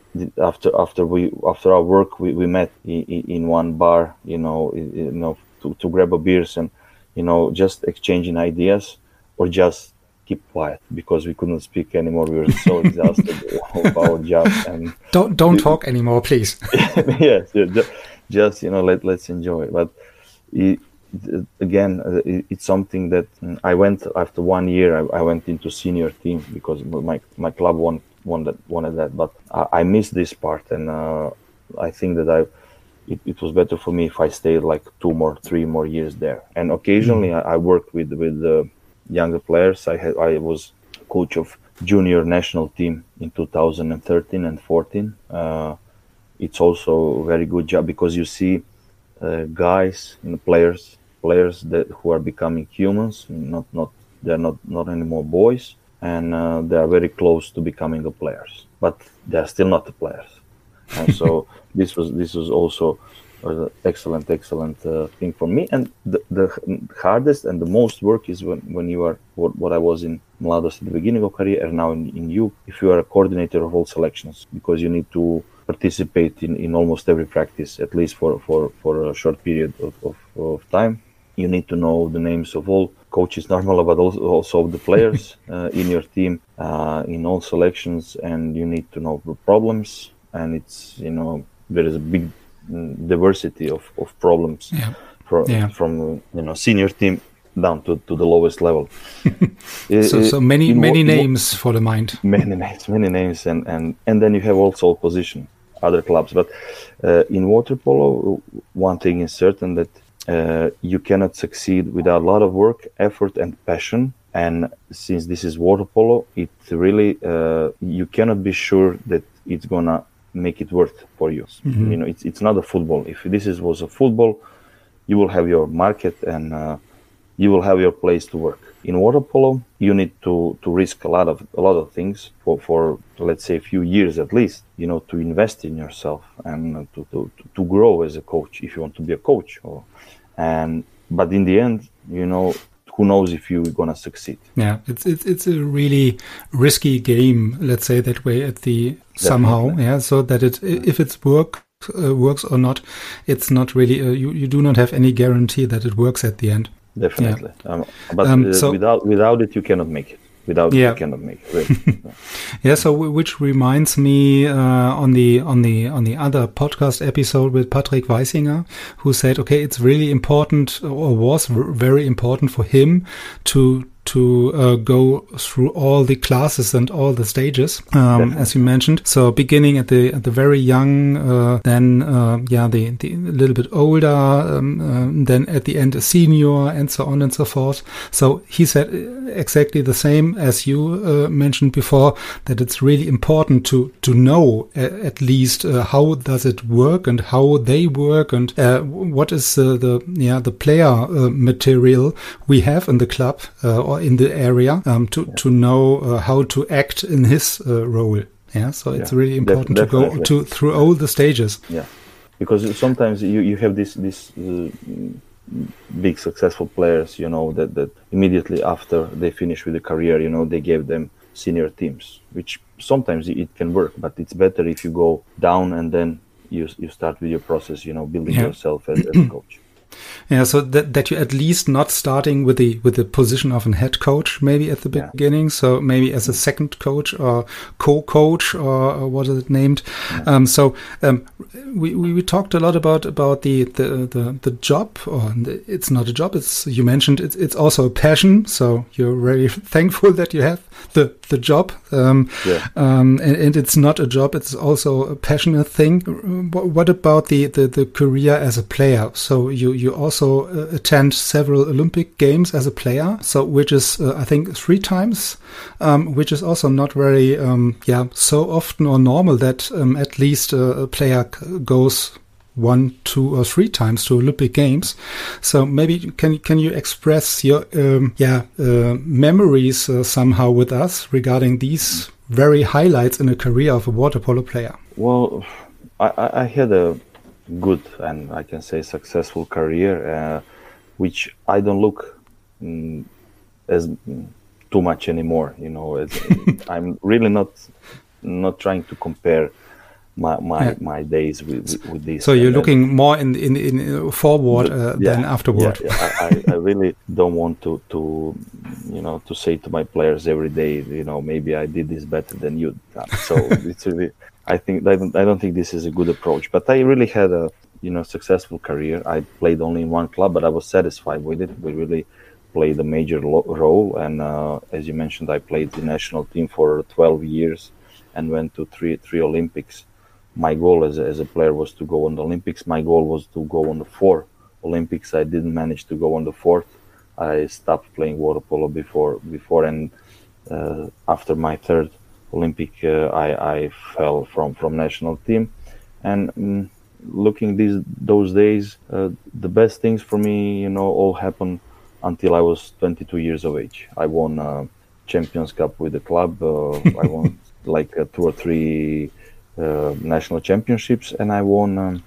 Speaker 3: after after we after our work, we, we met in, in one bar, you know, you know, to, to grab a beers and, you know, just exchanging ideas, or just keep quiet, because we couldn't speak anymore. We were so exhausted of our job. And
Speaker 2: don't don't talk anymore, please.
Speaker 3: Yes, yeah, just, just you know, let let's enjoy it. But it, again, it, it's something that I went after one year. I, I went into senior team because my my club won won that wanted that. But I, I missed this part, and uh, I think that I. It, it was better for me if I stayed like two more, three more years there. And occasionally, mm. I, I worked with with. Uh, younger players. I had I was coach of junior national team in two thousand thirteen and fourteen. Uh, it's also a very good job, because you see uh, guys, you know, players, players that who are becoming humans. Not not they're not not anymore boys, and uh, they are very close to becoming the players, but they are still not the players. And so this was this was also an excellent, excellent uh, thing for me. And the, the hardest and the most work is when, when you are, what, what I was in Mladost at the beginning of career, and now in, in you, if you are a coordinator of all selections, because you need to participate in, in almost every practice, at least for, for, for a short period of, of, of time. You need to know the names of all coaches, normal, but also, also the players uh, in your team, uh, in all selections, and you need to know the problems. And it's, you know, there is a big diversity of, of problems
Speaker 2: yeah.
Speaker 3: From,
Speaker 2: yeah.
Speaker 3: from you know, senior team down to, to the lowest level.
Speaker 2: so,
Speaker 3: uh,
Speaker 2: so many
Speaker 3: in
Speaker 2: many
Speaker 3: wo-
Speaker 2: names for the mind.
Speaker 3: Many names, many names, and, and, and then you have also position, other clubs. But uh, in water polo, one thing is certain, that uh, you cannot succeed without a lot of work, effort, and passion. And since this is water polo, it really uh, you cannot be sure that it's gonna make it worth for you. Mm-hmm. You know, it's it's not a football. If this is was a football, you will have your market, and uh, you will have your place to work. In water polo, you need to, to risk a lot of a lot of things for, for let's say a few years at least. You know, to invest in yourself and to to, to grow as a coach, if you want to be a coach. Or, and but in the end, you know, who knows if you're gonna succeed?
Speaker 2: Yeah, it's it's it's a really risky game. Let's say that way at the Definitely. somehow. Yeah, so that it if it's work uh, works or not, it's not really. Uh, you you do not have any guarantee that it works at the end.
Speaker 3: Definitely,
Speaker 2: yeah.
Speaker 3: um, but
Speaker 2: um,
Speaker 3: uh,
Speaker 2: so,
Speaker 3: without without it, you cannot make it. Without
Speaker 2: yeah.
Speaker 3: it, you cannot make it. Really.
Speaker 2: yeah. So, which reminds me uh, on the on the on the other podcast episode with Patrick Weisinger, who said, okay, it's really important, or was very important for him to to uh, go through all the classes and all the stages, um, as you mentioned. So beginning at the at the very young, uh, then uh, yeah, the, the a little bit older, um, uh, then at the end a senior, and so on and so forth. So he said exactly the same as you uh, mentioned before, that it's really important to to know uh, at least uh, how does it work and how they work, and uh, what is uh, the yeah the player uh, material we have in the club uh, or in the area, um, to yeah. to know uh, how to act in his uh, role. Yeah, so it's yeah, really important def- to go to through all the stages.
Speaker 3: Yeah, because sometimes you, you have this this uh, big successful players, you know, that, that immediately after they finish with the career, you know, they gave them senior teams, which sometimes it can work, but it's better if you go down and then you you start with your process, you know, building yeah. yourself as, as a coach.
Speaker 2: Yeah, so that that you at least not starting with the with the position of a head coach maybe at the
Speaker 3: Yeah.
Speaker 2: beginning, so maybe as a second coach or co-coach or, or what is it named?
Speaker 3: Yeah.
Speaker 2: Um, so um, we, we we talked a lot about about the the the, the job, or the, it's not a job. It's you mentioned it's it's also a passion. So you're very thankful that you have the the job. Um,
Speaker 3: Yeah.
Speaker 2: um, and, and it's not a job. It's also a passionate thing. What, what about the, the the career as a player? So you you also uh, attend several Olympic Games as a player, so which is uh, I think three times, um, which is also not very um, yeah so often or normal that um, at least uh, a player c- goes one, two, or three times to Olympic Games. So maybe can can you express your um, yeah uh, memories uh, somehow with us regarding these very highlights in a career of a water polo player?
Speaker 3: Well, I, I I had a good and I can say successful career, uh, which I don't look mm, as mm, too much anymore. You know, it's, I'm really not not trying to compare my my,
Speaker 2: Yeah.
Speaker 3: my days with with, with this.
Speaker 2: So you're
Speaker 3: And, uh,
Speaker 2: looking more in in, in forward uh,
Speaker 3: yeah,
Speaker 2: than afterward.
Speaker 3: Yeah, yeah. I, I I really don't want to, to, you know, to say to my players every day, you know, maybe I did this better than you. So it's really, I think I don't, I don't think this is a good approach. But I really had a, you know, successful career. I played only in one club, but I was satisfied with it. We really played a major lo- role, and uh, as you mentioned, I played the national team for twelve years, and went to three three Olympics. My goal as a, as a player was to go on the Olympics. My goal was to go on the four Olympics. I didn't manage to go on the fourth. I stopped playing water polo before, before and uh, after my third Olympic, uh, I, I fell from, from national team. And um, looking these those days, uh, the best things for me, you know, all happened until I was twenty-two years of age. I won a Champions Cup with the club. Uh, I won like uh, two or three uh, national championships, and I won. Um,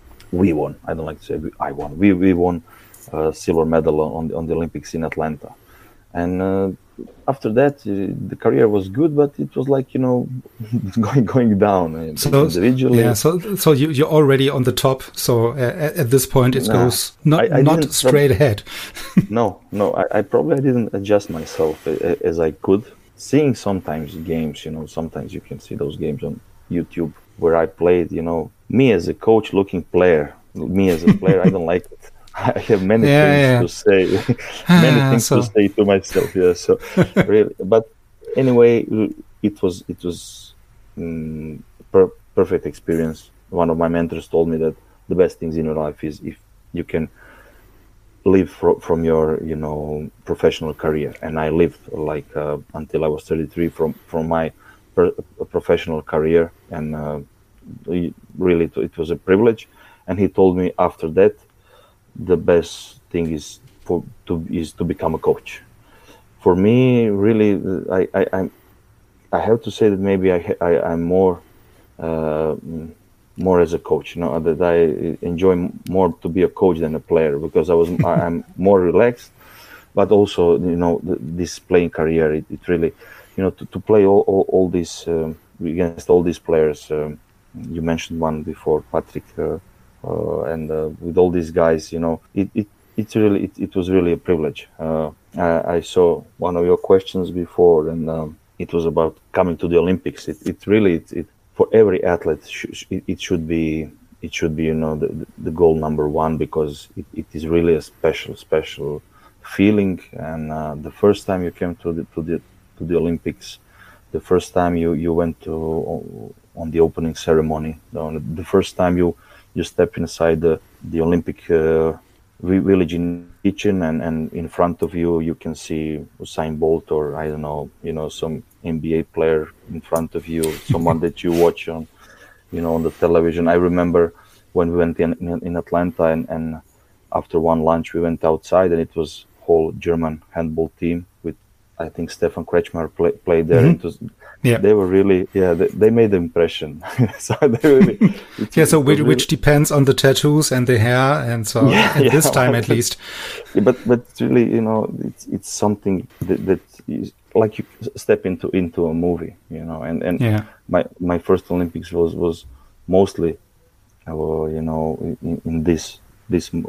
Speaker 3: we won. I don't like to say we, I won. We we won a silver medal on the, on the Olympics in Atlanta, and uh, after that uh, the career was good, but it was like, you know, going going down uh,
Speaker 2: So
Speaker 3: individually.
Speaker 2: yeah, so so you you're already on the top. So uh, at, at this point, it
Speaker 3: Nah,
Speaker 2: goes not
Speaker 3: I- I
Speaker 2: not
Speaker 3: didn't-
Speaker 2: straight ahead.
Speaker 3: No, no, I, I probably didn't adjust myself a- a- as I could. Seeing sometimes games, you know, sometimes you can see those games on YouTube where I played, you know, me as a coach looking player, me as a player, I don't like it. I have many
Speaker 2: Yeah,
Speaker 3: things
Speaker 2: yeah.
Speaker 3: to say, many
Speaker 2: Ah,
Speaker 3: things
Speaker 2: so-
Speaker 3: to say to myself. Yeah, so really, but anyway, it was it was um, per- perfect experience. One of my mentors told me that the best things in your life is if you can live fro- from your, you know, professional career. And I lived like uh, until I was thirty-three from from my per- professional career, and uh, we- really it, it was a privilege. And he told me after that, the best thing is for to is to become a coach. For me, really, I I I'm, I have to say that maybe I, ha- I I'm more uh, more as a coach. You know, that I enjoy m- more to be a coach than a player, because I was I, I'm more relaxed. But also, you know, th- this playing career, it, it really, you know, to, to play all all, all these um, against all these players. Um, you mentioned one before, Patrick, uh, uh, and uh, with all these guys, you know, it it it's really it, it was really a privilege. Uh, I, I saw one of your questions before, and um, it was about coming to the Olympics. It it really it, it for every athlete sh- it, it should be it should be, you know, the the goal number one, because it, it is really a special special feeling. And uh, the first time you came to the to the to the Olympics, the first time you you went to on the opening ceremony, the first time you you step inside the the Olympic uh, village in kitchen, and and in front of you you can see Usain Bolt, or I don't know, you know, some N B A player in front of you, someone that you watch on, you know, on the television. I remember when we went in in, in Atlanta, and, and after one lunch we went outside, and it was whole German handball team with, I think, Stefan Kretschmer play, played there.
Speaker 2: Mhm.
Speaker 3: It was,
Speaker 2: Yeah.
Speaker 3: they were really, yeah, they, they made an impression. So they really, it,
Speaker 2: Yeah, so
Speaker 3: it was
Speaker 2: which,
Speaker 3: really-
Speaker 2: which depends on the tattoos and the hair, and so
Speaker 3: Yeah,
Speaker 2: at this
Speaker 3: yeah.
Speaker 2: time at least.
Speaker 3: Yeah, but but it's really, you know, it's it's something that, that is like you step into into a movie, you know. And and
Speaker 2: Yeah.
Speaker 3: my my first Olympics was was mostly, uh, you know, in, in this this like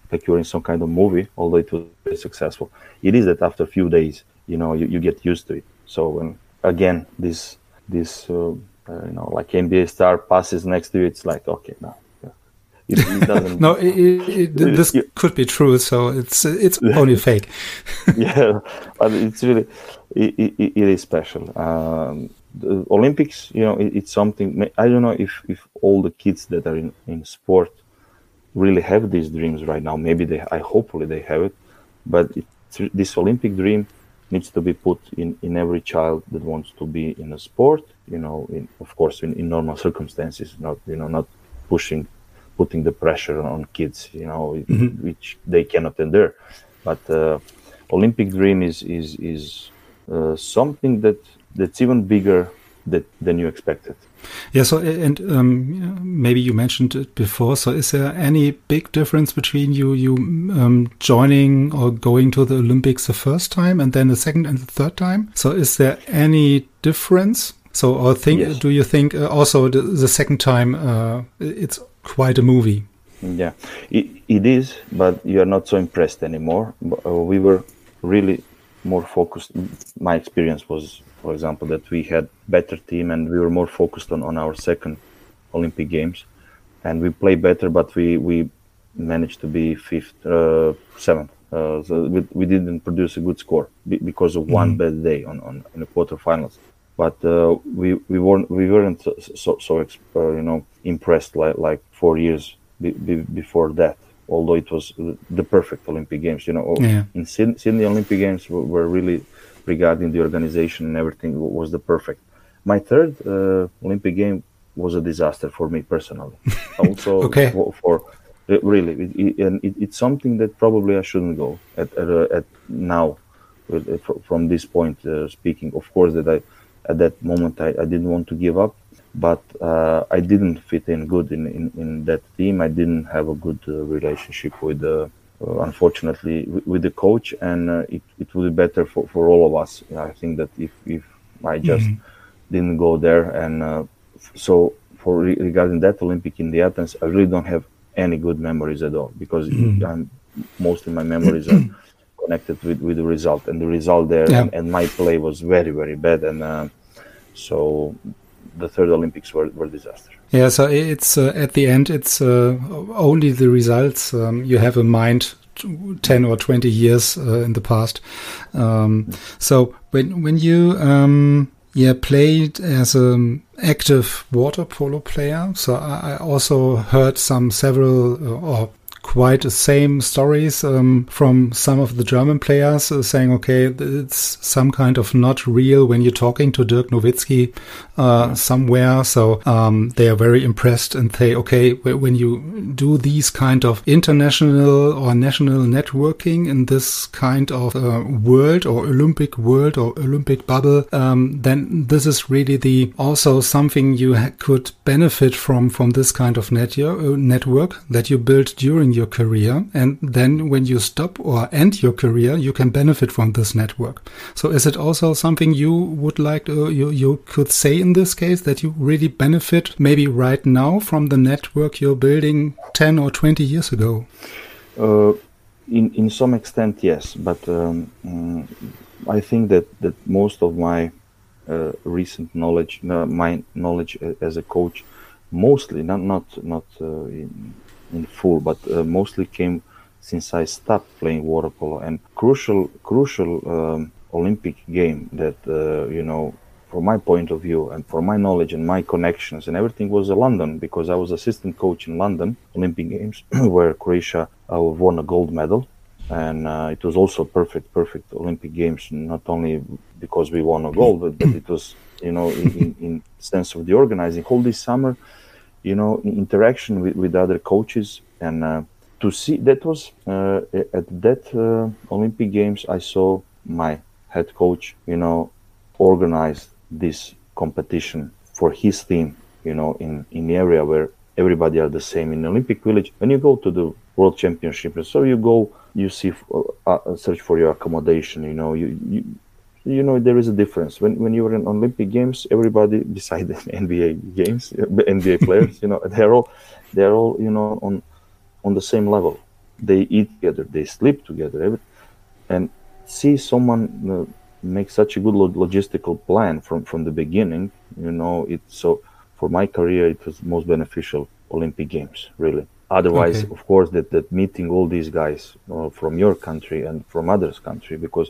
Speaker 3: like you're in some kind of movie, although it was very successful. It is that after a few days, you know, you, you get used to it. So when again, this this uh, uh, you know, like N B A star passes next to you, it's like, okay, no, yeah. it, it doesn't.
Speaker 2: No, it, it, it, this it, could be true. So it's it's only fake.
Speaker 3: Yeah, but it's really it, it, it is special. Um, the Olympics, you know, it, it's something. I don't know if if all the kids that are in, in sport really have these dreams right now. Maybe they, I hopefully they have it, but it's, this Olympic dream needs to be put in, in every child that wants to be in a sport, you know, in, of course, in, in normal circumstances, not, you know, not pushing, putting the pressure on kids, you know, mm-hmm. which they cannot endure. But uh, Olympic dream is, is, is uh, something that, that's even bigger that, than you expected.
Speaker 2: Yeah, so, and um, maybe you mentioned it before, so is there any big difference between you you um, joining or going to the Olympics the first time and then the second and the third time? So is there any difference? So or think, yes. do you think uh, also the, the second time uh, it's quite a movie?
Speaker 3: Yeah, it, it is, but you're not so impressed anymore. Uh, we were really more focused. My experience was, for example, that we had better team and we were more focused on, on our second Olympic Games, and we played better, but we, we managed to be fifth, uh, seventh. Uh, so we, we didn't produce a good score b- because of mm-hmm. one bad day on, on in the quarterfinals. But uh, we we weren't we weren't so so uh, you know impressed like like four years be, be, before that. Although it was the perfect Olympic Games, you know, yeah. in Sydney, Sydney Olympic Games were, were really, regarding the organization and everything, was the perfect. My third uh, Olympic game was a disaster for me personally. Also,
Speaker 2: okay.
Speaker 3: for, for really, it, it, and it, it's something that probably I shouldn't go at at, uh, at now. With, uh, from this point uh, speaking, of course, that I at that moment I, I didn't want to give up. But uh, I didn't fit in good in, in, in that team. I didn't have a good uh, relationship with, uh, uh, unfortunately, with, with the coach, and uh, it, it would be better for, for all of us. I think that if, if I just mm-hmm. didn't go there, and uh, so for re- regarding that Olympic in the Athens, I really don't have any good memories at all, because mm-hmm. I'm, mostly my memories are connected with, with the result, and the result there, yeah. and, and my play was very, very bad, and uh, so. The third Olympics were, were disaster.
Speaker 2: Yeah, so it's uh, at the end, it's uh, only the results. Um, you have in mind ten or twenty years uh, in the past. Um, so when when you um, yeah played as an active water polo player, so I, I also heard some several uh, or quite the same stories um, from some of the German players uh, saying, okay, it's some kind of not real when you're talking to Dirk Nowitzki uh, yeah. somewhere. So um, they are very impressed and say, okay, when you do these kind of international or national networking in this kind of uh, world or Olympic world or Olympic bubble, um, then this is really the also something you ha- could benefit from from this kind of net- uh, network that you built during your career, and then when you stop or end your career, you can benefit from this network. So is it also something you would like to, you, you could say in this case, that you really benefit maybe right now from the network you're building ten or twenty years ago?
Speaker 3: Uh, in, in some extent, yes, but um, um, I think that, that most of my uh, recent knowledge, uh, my knowledge as a coach, mostly, not, not, not uh, in, in full, but uh, mostly came since I stopped playing water polo. And crucial, crucial um, Olympic game that, uh, you know, from my point of view and for my knowledge and my connections and everything was uh, London, because I was assistant coach in London Olympic Games where Croatia uh, won a gold medal. And uh, it was also perfect, perfect Olympic Games, not only because we won a gold, but, but it was, you know, in, in, in sense of the organizing whole this summer, you know, interaction with, with other coaches, and uh, to see that was uh, at that uh, Olympic Games, I saw my head coach, you know, organize this competition for his team, you know, in, in the area where everybody are the same. In Olympic Village, when you go to the World Championship, so you go, you see, uh, search for your accommodation, you know, you, you You know, there is a difference. When when you were in Olympic Games, everybody, beside the N B A games, N B A players, you know, they're all, they're all, you know, on on the same level. they eat together, they sleep together, every, and see someone uh, make such a good log- logistical plan from, from the beginning. You know, it so for my career it was most beneficial Olympic Games, really. Otherwise,
Speaker 2: Okay.
Speaker 3: of course, that, that meeting all these guys uh, from your country and from others' country, because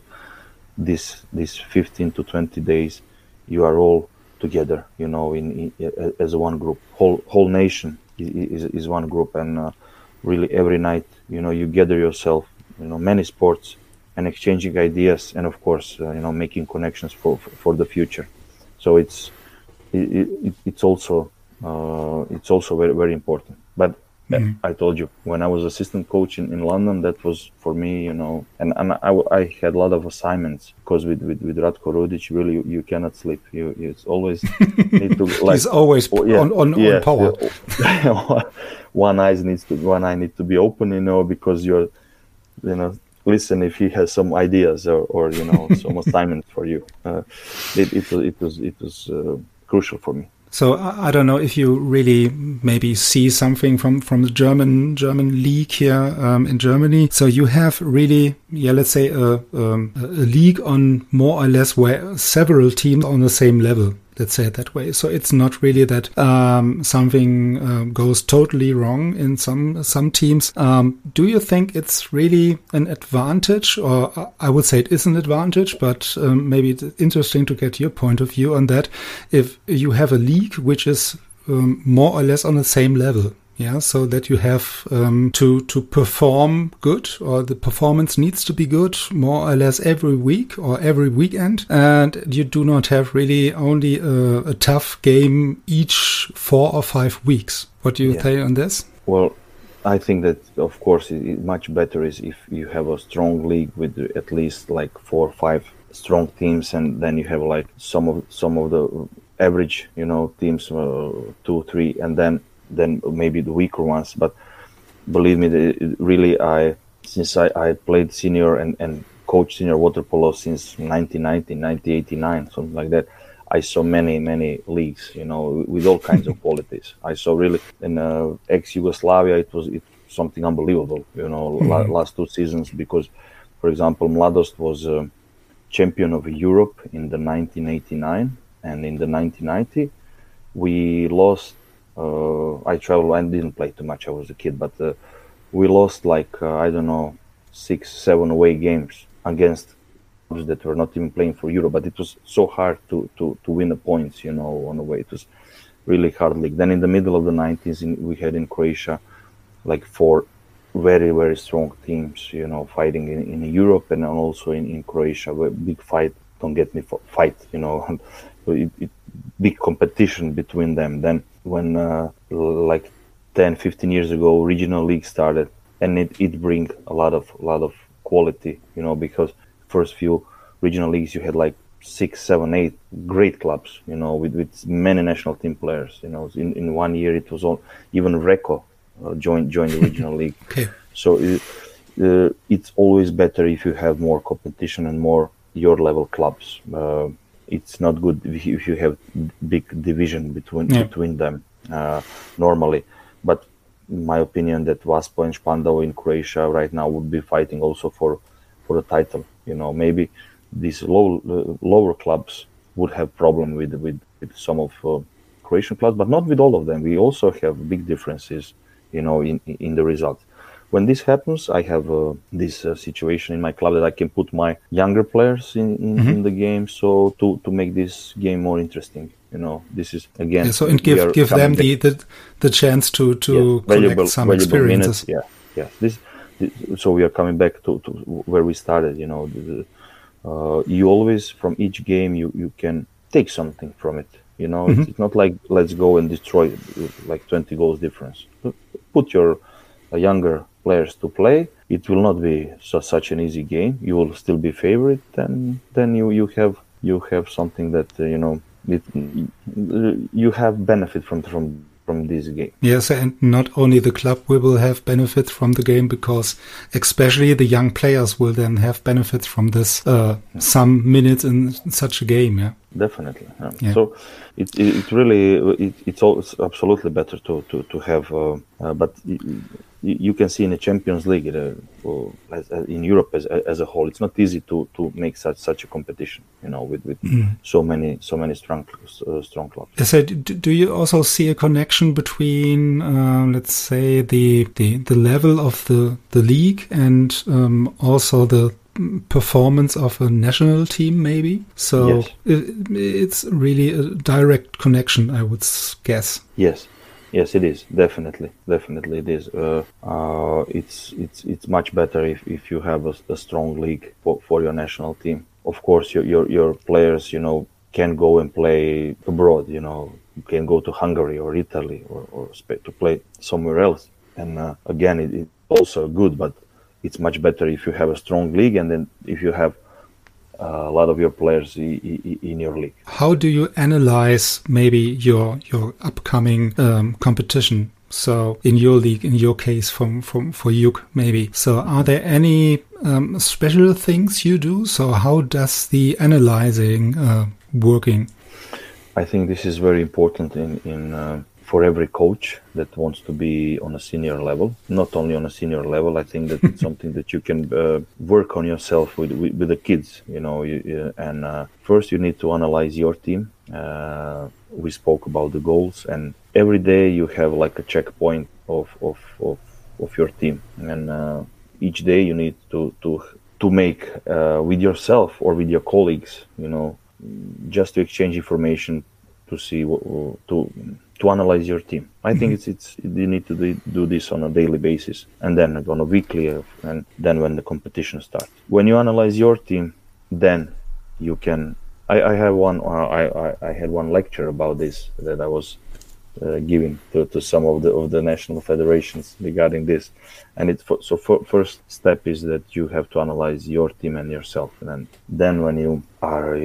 Speaker 3: this this fifteen to twenty days, you are all together, you know, in, in as one group. Whole whole nation is is one group, and uh, really every night, you know, you gather yourself, you know, many sports, and exchanging ideas, and of course, uh, you know, making connections for for the future. So it's it, it, it's also uh, it's also very very important. But
Speaker 2: Mhm.
Speaker 3: I told you, when I was assistant coach in, in London, that was for me, you know, and, and I, I had a lot of assignments, because with, with, with Ratko Rudic, really, you, you cannot sleep. You, you it's always need to like.
Speaker 2: He's always
Speaker 3: oh, yeah,
Speaker 2: on, on,
Speaker 3: yeah,
Speaker 2: on power.
Speaker 3: yeah. one eye needs to one eye need to be open, you know, because you're, you know, listen if he has some ideas or, or you know, some assignments for you. Uh, it, it was it was it was uh, crucial for me.
Speaker 2: So I I don't know if you really maybe see something from, from the German German league here um, in Germany. So you have really, yeah, let's say a, um, a league on more or less where several teams on the same level. Let's say it that way. So it's not really that um, something um, goes totally wrong in some some teams. Um, do you think it's really an advantage, or uh, I would say it is an advantage, but um, maybe it's interesting to get your point of view on that. If you have a league which is um, more or less on the same level. Yeah, so that you have um, to to perform good, or the performance needs to be good more or less every week or every weekend, and you do not have really only a, a tough game each four or five weeks. What do you
Speaker 3: Yeah.
Speaker 2: say on this?
Speaker 3: Well, I think that of course it, it much better is if you have a strong league with at least like four or five strong teams, and then you have like some of some of the average, you know, teams, uh, two, three, and then. then maybe the weaker ones. But believe me, it, really, I since I, I played senior and, and coached senior water polo since nineteen ninety, nineteen eighty-nine, something like that, I saw many, many leagues, you know, with all kinds of qualities. I saw really in uh, ex-Yugoslavia, it was it, something unbelievable, you know, mm-hmm. la- last two seasons, because, for example, Mladost was uh, champion of Europe in the nineteen eighty-nine, and in the nineteen ninety, we lost. Uh, I traveled. I didn't play too much. I was a kid, but uh, we lost like uh, I don't know six, seven away games against clubs that were not even playing for Europe. But it was so hard to to to win the points, you know, on the way. It was really hard league. Then in the middle of the nineties, in, we had in Croatia like four very very strong teams, you know, fighting in, in Europe and also in, in Croatia. Big fight. Don't get me fight, you know. it, it, big competition between them. Then when uh, like ten, fifteen years ago, regional league started, and it, it bring a lot of a lot of quality, you know, because first few regional leagues you had like six, seven, eight great clubs, you know, with, with many national team players. You know, in, in one year it was all, even Reco uh, joined joined the regional league.
Speaker 2: Okay.
Speaker 3: So it, uh, it's always better if you have more competition and more your level clubs. Uh, it's not good if you, if you have big division between yeah. between them uh, normally. But in my opinion, that Vaspo and Spandau in Croatia right now would be fighting also for for a title. You know, maybe these low uh, lower clubs would have problem with with, with some of uh, Croatian clubs, but not with all of them. We also have big differences, you know, in in the results. When this happens, I have uh, this uh, situation in my club that I can put my younger players in, in, mm-hmm. in the game, so to, to make this game more interesting. You know, this is again.
Speaker 2: Yeah, so and give give them the, the the chance to to
Speaker 3: yeah, valuable,
Speaker 2: collect some
Speaker 3: valuable
Speaker 2: experiences.
Speaker 3: Minutes. Yeah, yeah. This, this, so we are coming back to, to where we started. You know, the, uh, you always from each game you, you can take something from it. You know, mm-hmm. it's, it's not like let's go and destroy like twenty goals difference. Put your uh, younger players to play. It will not be so, such an easy game. You will still be favorite, and then you, you have you have something that uh, you know it, you have benefit from from from this game.
Speaker 2: Yes, and not only the club will have benefits from the game, because especially the young players will then have benefits from this uh, yeah. some minutes in such a game. Yeah,
Speaker 3: definitely. Yeah.
Speaker 2: Yeah.
Speaker 3: So it, it it really it, it's all it's absolutely better to to to have, uh, uh, but. It, you, you can see in the Champions League, uh, or as, uh, in Europe as as a whole, it's not easy to, to make such such a competition. You know, with, with mm. so many so many strong uh, strong clubs.
Speaker 2: So, do you also see a connection between, uh, let's say, the, the the level of the the league and um, also the performance of a national team, maybe? So
Speaker 3: yes.
Speaker 2: it, it's really a direct connection, I would guess.
Speaker 3: Yes. Yes, it is. Definitely, definitely it is. Uh, uh, it's it's it's much better if, if you have a, a strong league for, for your national team. Of course, your, your your players, you know, can go and play abroad. You know, you can go to Hungary or Italy or, or to play somewhere else. And uh, again, it, it's also good, but it's much better if you have a strong league, and then if you have Uh, a lot of your players i- i- in your league.
Speaker 2: How do you analyze maybe your your upcoming um, competition? So in your league, in your case, from from for U K maybe. So are there any um, special things you do? So how does the analyzing uh, working?
Speaker 3: I think this is very important in in. Uh, for every coach that wants to be on a senior level, not only on a senior level. I think that it's something that you can uh, work on yourself with, with, with the kids, you know, you, you, and uh, first you need to analyze your team. Uh, we spoke about the goals, and every day you have like a checkpoint of, of, of, of your team. And uh, each day you need to, to, to make uh, with yourself or with your colleagues, you know, just to exchange information to see what, to, to analyze your team. I think it's it's you need to do, do this on a daily basis, and then on a weekly, uh, and then when the competition starts. When you analyze your team, then you can. I, I have one. Uh, I, I I had one lecture about this that I was uh, giving to, to some of the of the national federations regarding this, and it's for, so for, first step is that you have to analyze your team and yourself, and then then when you are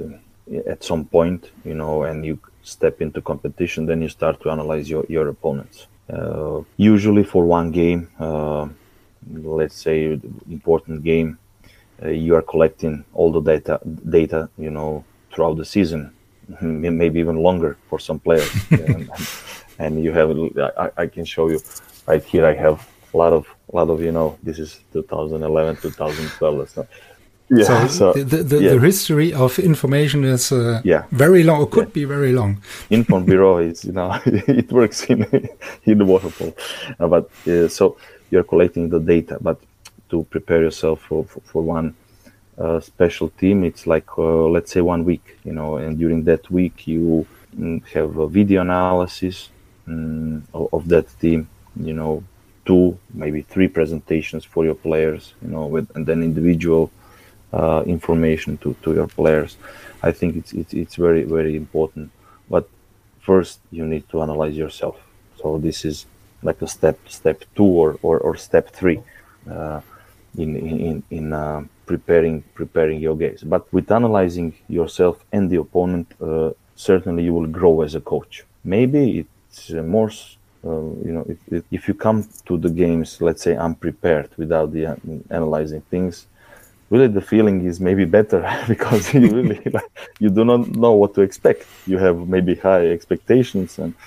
Speaker 3: uh, at some point, you know, and you step into competition, then you start to analyze your, your opponents. Uh, usually for one game, uh, let's say important game, uh, you are collecting all the data, data, you know, throughout the season, maybe even longer for some players. and, and you have, I, I can show you right here. I have a lot of, a lot of, you know, this is two thousand eleven, two thousand twelve. So,
Speaker 2: Yeah, so, so the the, yeah. the history of information is uh,
Speaker 3: yeah.
Speaker 2: very long. It could
Speaker 3: yeah.
Speaker 2: be very long.
Speaker 3: Inform Bureau is, you know, it works in in the waterfall, uh, but uh, so you're collecting the data. But to prepare yourself for for, for one uh, special team, it's like uh, let's say one week, you know, and during that week you mm, have a video analysis um, of, of that team, you know, two maybe three presentations for your players, you know, with and then individual. Uh, information to, to your players. I think it's, it's it's very very important. But first you need to analyze yourself. So this is like a step step two or or, or step three uh, in in in uh, preparing preparing your games. But with analyzing yourself and the opponent, uh, certainly you will grow as a coach. Maybe it's uh, more. Uh, you know, if, if if you come to the games, let's say unprepared, without the uh, analyzing things. Really, the feeling is maybe better because you really like, you do not know what to expect. You have maybe high expectations, and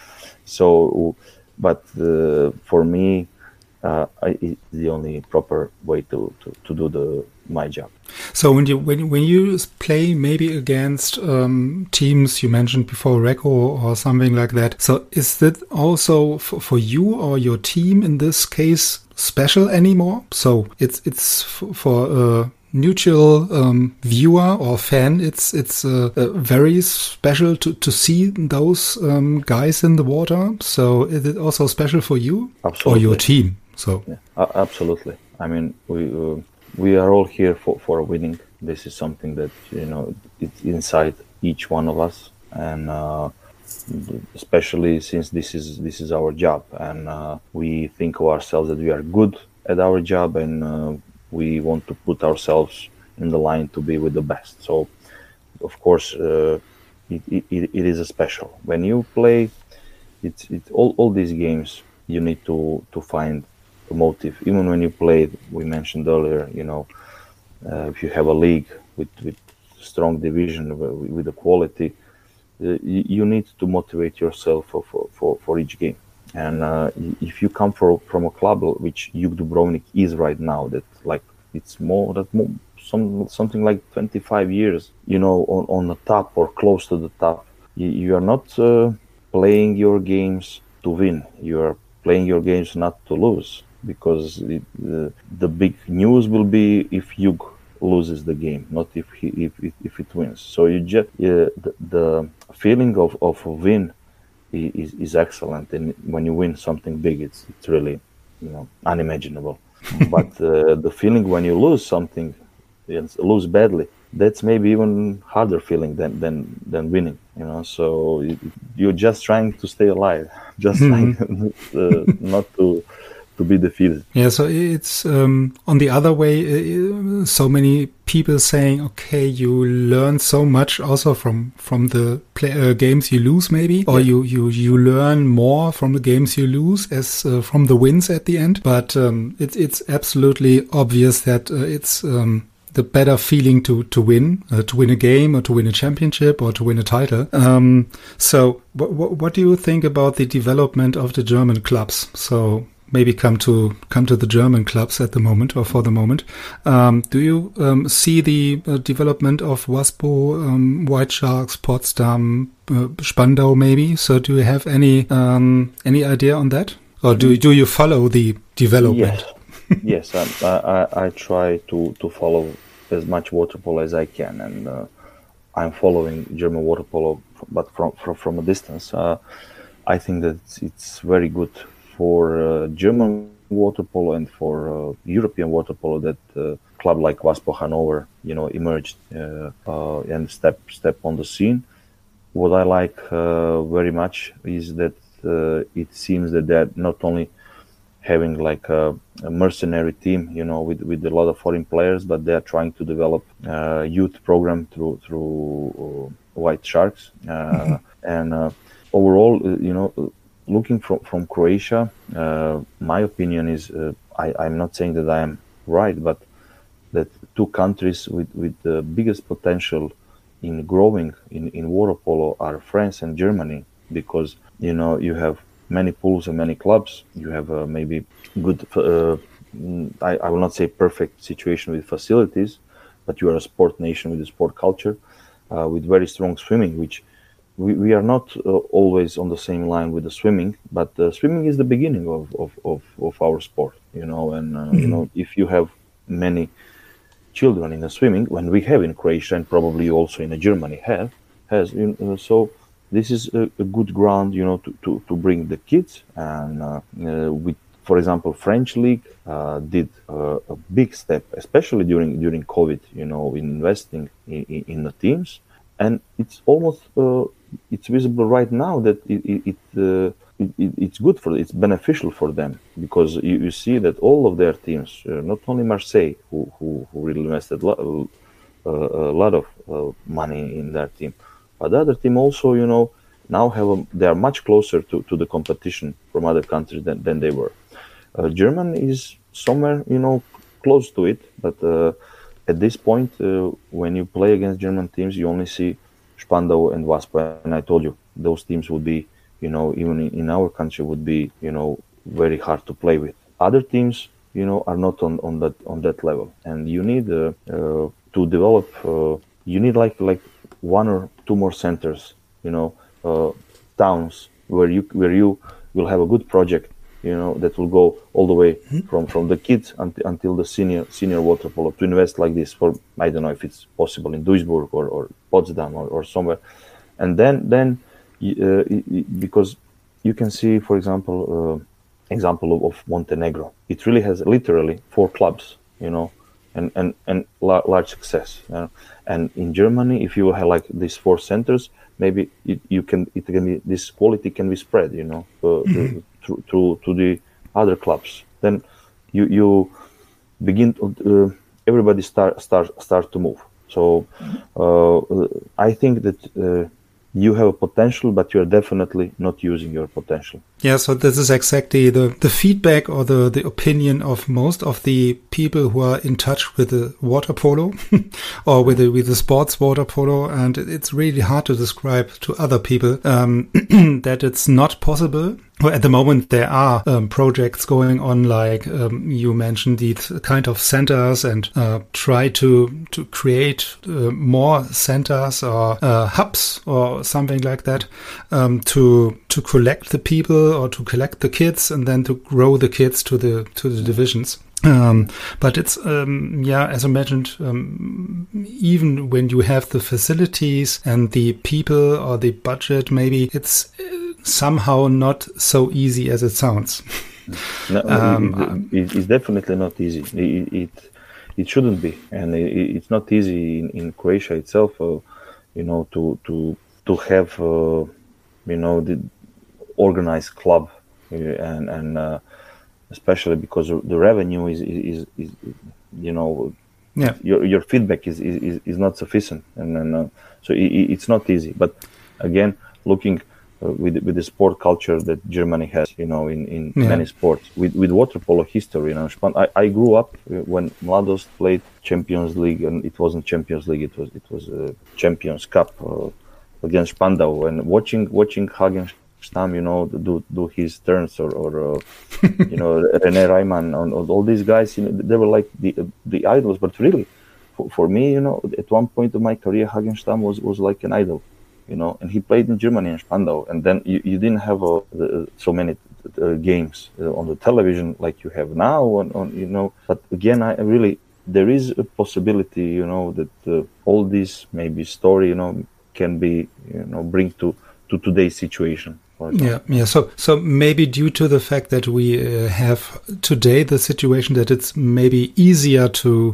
Speaker 3: so. But uh, for me, uh, I, it's the only proper way to, to, to do the my job.
Speaker 2: So when you when when you play maybe against um, teams you mentioned before, Reco or something like that. So is that also for, for you or your team in this case special anymore? So it's it's for. for uh, neutral um, viewer or fan, it's it's uh, uh, very special to, to see those um, guys in the water. So is it also special for you
Speaker 3: absolutely.
Speaker 2: Or your team? So
Speaker 3: yeah, uh, absolutely. I mean, we uh, we are all here for, for winning. This is something that, you know, it's inside each one of us, and uh, especially since this is this is our job, and uh, we think of ourselves that we are good at our job, and uh, we want to put ourselves in the line to be with the best. So, of course, uh, it, it, it is a special. When you play, it's it, all, all these games, you need to, to find a motive. Even when you play, we mentioned earlier, you know, uh, if you have a league with, with strong division, with the quality, uh, you, you need to motivate yourself for, for, for, for each game. And uh, if you come from from a club which Juk Dubrovnik is right now, that like it's more that more, some something like twenty-five years, you know, on, on the top or close to the top, you, you are not uh, playing your games to win. You are playing your games not to lose, because it, uh, the big news will be if Juk loses the game, not if he if if, if it wins. So you just uh, the, the feeling of of a win is is excellent, and when you win something big, it's it's really, you know, unimaginable. But uh, the feeling when you lose something, lose badly, that's maybe even harder feeling than than than winning, you know. So it, you're just trying to stay alive, just mm-hmm. trying uh, not to to be defeated.
Speaker 2: Yeah, so it's um, on the other way. Uh, so many people saying, "Okay, you learn so much also from from the play, uh, games you lose, maybe, or yeah. you you you learn more from the games you lose as uh, from the wins at the end." But um, it's it's absolutely obvious that uh, it's um, the better feeling to to win, uh, to win a game, or to win a championship, or to win a title. Um, so, what what do you think about the development of the German clubs? So. Maybe come to come to the German clubs at the moment, or for the moment. Um, do you um, see the uh, development of Waspo, um, White Sharks, Potsdam, uh, Spandau, maybe? So, do you have any um, any idea on that, or do do you follow the development?
Speaker 3: Yes, yes. I, I I try to to follow as much water polo as I can, and uh, I'm following German water polo, but from from, from a distance. Uh, I think that it's, it's very good for uh, German water polo and for uh, European water polo that uh, club like Waspo Hanover, you know, emerged uh, uh, and step step on the scene. What I like uh, very much is that uh, it seems that they're not only having like a, a mercenary team, you know, with, with a lot of foreign players, but they are trying to develop a youth program through through uh, White Sharks. Uh, mm-hmm. And uh, overall, uh, you know, looking from, from Croatia, uh, my opinion is, uh, I, I'm not saying that I am right, but that two countries with, with the biggest potential in growing in, in water polo are France and Germany, because, you know, you have many pools and many clubs. You have uh, maybe good, uh, I, I will not say perfect situation with facilities, but you are a sport nation with a sport culture, uh, with very strong swimming, which We, we are not uh, always on the same line with the swimming, but uh, swimming is the beginning of, of, of, of our sport, you know, and, uh, mm-hmm. you know, if you have many children in the swimming, when we have in Croatia and probably also in Germany have, has, you know, so this is a, a good ground, you know, to, to, to bring the kids. And uh, uh, with, for example, French League uh, did uh, a big step, especially during, during COVID, you know, in investing in, in, in the teams. And it's almost, uh, it's visible right now that it, it, it, uh, it it's good for, it's beneficial for them, because you, you see that all of their teams, uh, not only Marseille, who, who, who really invested lo- uh, a lot of uh, money in their team, but the other team also, you know, now have a, they are much closer to, to the competition from other countries than, than they were. Uh, German is somewhere, you know, close to it, but uh, at this point, uh, when you play against German teams, you only see Spandau and Waspo, and I told you those teams would be, you know, even in, in our country would be, you know, very hard to play with. Other teams, you know, are not on, on that on that level, and you need uh, uh, to develop. Uh, you need like like one or two more centers, you know, uh, towns where you where you will have a good project, you know, that will go all the way mm-hmm. from, from the kids until, until the senior senior water polo, to invest like this for, I don't know if it's possible in Duisburg or, or Potsdam or, or somewhere. And then, then uh, because you can see, for example, uh, example of, of Montenegro. It really has literally four clubs, you know, and, and, and la- large success. You know? And in Germany, if you have like these four centers, maybe it, you can, it can be, this quality can be spread, you know, uh, mm-hmm. to, to, to the other clubs. Then you, you begin to, uh, everybody start, start, start to move. So uh, I think that uh, you have a potential, but you're definitely not using your potential.
Speaker 2: Yeah, so this is exactly the, the feedback or the, the opinion of most of the people who are in touch with the water polo or with the, with the sports water polo. And it's really hard to describe to other people um, that it's not possible well, at the moment there are um, projects going on, like um, you mentioned, these kind of centers, and uh, try to to create uh, more centers or uh, hubs or something like that um, to to collect the people or to collect the kids, and then to grow the kids to the to the divisions. Um, but it's, um, yeah, as I mentioned, um, even when you have the facilities and the people or the budget, maybe it's somehow not so easy as it sounds.
Speaker 3: No,
Speaker 2: um,
Speaker 3: it, it, it's definitely not easy. It it, it shouldn't be, and it, it's not easy in, in Croatia itself. Uh, you know, to to to have uh, you know the organized club, uh, and and. Uh, especially because the revenue is, is, is, is you know,
Speaker 2: yeah.
Speaker 3: your your feedback is, is, is not sufficient. And then, uh, so it, it's not easy. But again, looking uh, with with the sport culture that Germany has, you know, in, in yeah. many sports, with, with water polo history, you know, I, I grew up when Mladost played Champions League, and it wasn't Champions League, it was it was a Champions Cup uh, against Spandau, and watching watching Hagen Stam, you know, do do his turns, or, or uh, you know, René Reimann, and all these guys, you know, they were like the the idols. But really, for, for me, you know, at one point of my career, Hagen Stam was, was like an idol, you know, and he played in Germany in Spandau, and then you, you didn't have uh, the, so many uh, games uh, on the television like you have now, on, on you know. But again, I really, there is a possibility, you know, that uh, all this maybe story, you know, can be, you know, bring to to today's situation.
Speaker 2: Yeah, yeah. So, so maybe due to the fact that we uh, have today the situation that it's maybe easier to,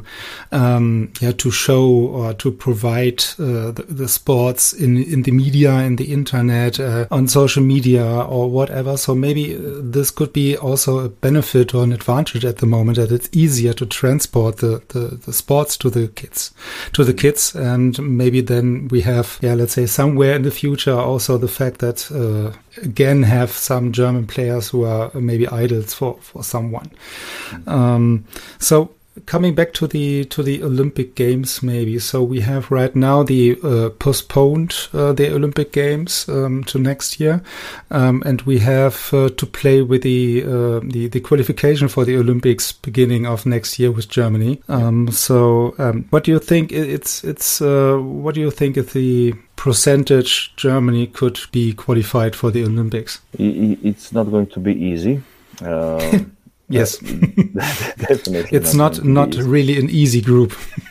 Speaker 2: um, yeah, to show or to provide uh, the, the sports in in the media, in the internet, uh, on social media or whatever. So maybe this could be also a benefit or an advantage at the moment, that it's easier to transport the the, the sports to the kids, to the kids, and maybe then we have, yeah, let's say somewhere in the future also the fact that. Uh, again have some German players who are maybe idols for, for someone. Mm-hmm. Um, so coming back to the to the Olympic Games, maybe. So we have right now the uh, postponed uh, the Olympic Games um, to next year, um, and we have uh, to play with the, uh, the the qualification for the Olympics beginning of next year with Germany. Um, so um, what do you think? It's it's uh, what do you think is the percentage Germany could be qualified for the Olympics?
Speaker 3: It's not going to be easy. Uh,
Speaker 2: yes,
Speaker 3: definitely.
Speaker 2: It's not not, not really an easy group.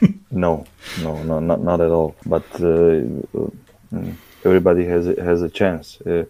Speaker 3: no, no, no, not not at all. But uh, uh, everybody has a, has a chance. Uh,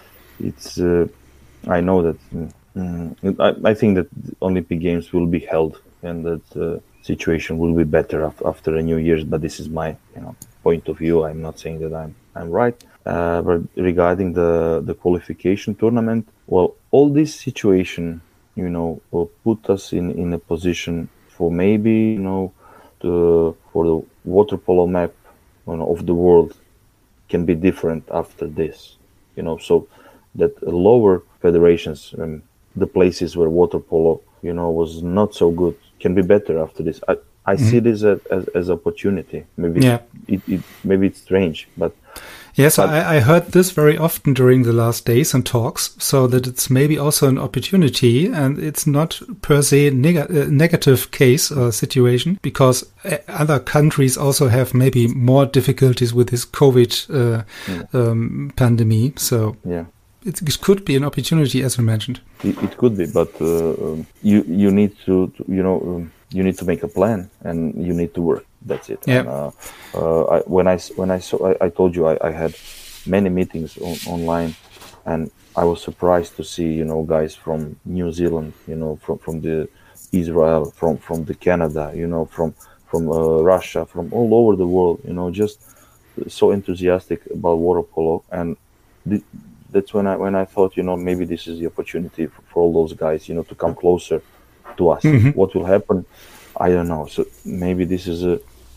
Speaker 3: it's. Uh, I know that. Um, I, I think that Olympic Games will be held, and that uh, situation will be better af- after a New Year's. But this is my, you know, point of view. I'm not saying that I'm I'm right. Uh, but regarding the the qualification tournament, well, all this situation, you know, will put us in, in a position for maybe, you know, the, for the water polo map, you know, of the world can be different after this, you know, so that lower federations, um, the places where water polo, you know, was not so good, can be better after this. I, I mm-hmm. see this as, as, as opportunity. Maybe yeah. it, it maybe it's strange, but
Speaker 2: yes, but I, I heard this very often during the last days and talks. So that it's maybe also an opportunity, and it's not per se neg- uh, negative case or situation, because other countries also have maybe more difficulties with this COVID uh, yeah. um, pandemic. So
Speaker 3: yeah.
Speaker 2: It, it could be an opportunity, as you mentioned.
Speaker 3: It, it could be, but uh, um, you you need to, to you know. Um, You need to make a plan, and you need to work. That's it.
Speaker 2: Yeah.
Speaker 3: And, uh, uh, I, when I when I saw, I, I told you I, I had many meetings on, online, and I was surprised to see, you know, guys from New Zealand, you know, from from the Israel, from from the Canada, you know, from from uh, Russia, from all over the world, you know, just so enthusiastic about water polo, and th- that's when I when I thought, you know, maybe this is the opportunity for, for all those guys, you know, to come closer to us. Mm-hmm. What will happen, I don't know. So maybe this is a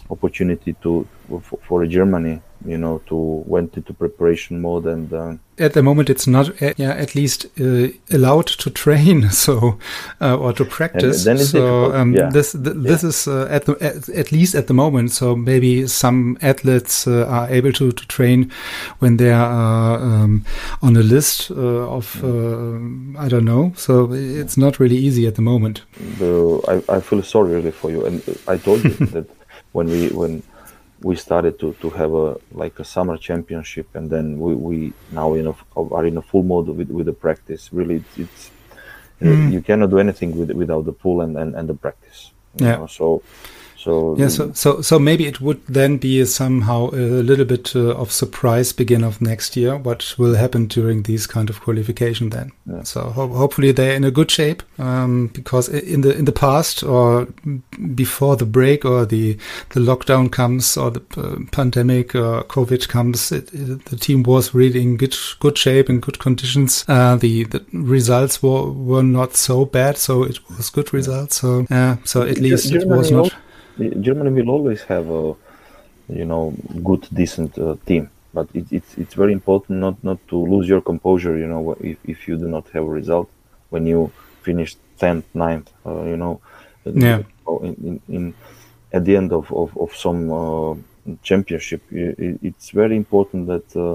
Speaker 3: opportunity to for, for Germany, you know, to went into preparation mode and. Uh,
Speaker 2: At the moment, it's not, uh, yeah, at least uh, allowed to train, so uh, or to practice.
Speaker 3: Then it's
Speaker 2: so um,
Speaker 3: yeah.
Speaker 2: this th- this yeah. is uh, at the at, at least at the moment. So maybe some athletes uh, are able to, to train when they are um, on a list uh, of uh, I don't know. So it's not really easy at the moment.
Speaker 3: The, I I feel sorry really for you, and I told you that when we when. we started to, to have a like a summer championship, and then we, we now in a, are in a full mode with, with the practice. Really, it's, it's mm. you cannot do anything with, without the pool and, and, and the practice.
Speaker 2: Yeah.
Speaker 3: Know? So, so
Speaker 2: yeah. So, so so maybe it would then be somehow a little bit uh, of surprise beginning of next year. What will happen during these kind of qualification then? Yeah. So ho- hopefully they're in a good shape, um, because in the in the past or before the break or the the lockdown comes or the uh, pandemic or COVID comes, it, it, the team was really in good good shape and good conditions. Uh, the the results were were not so bad, so it was good results. So yeah, uh, so at least
Speaker 3: Germany
Speaker 2: it was not.
Speaker 3: Germany will always have a, you know, good, decent uh, team, but it, it's it's very important not, not to lose your composure. You know, if, if you do not have a result when you finish tenth, ninth, uh, you know,
Speaker 2: yeah.
Speaker 3: in, in, in at the end of of, of some uh, championship, it, it's very important that uh,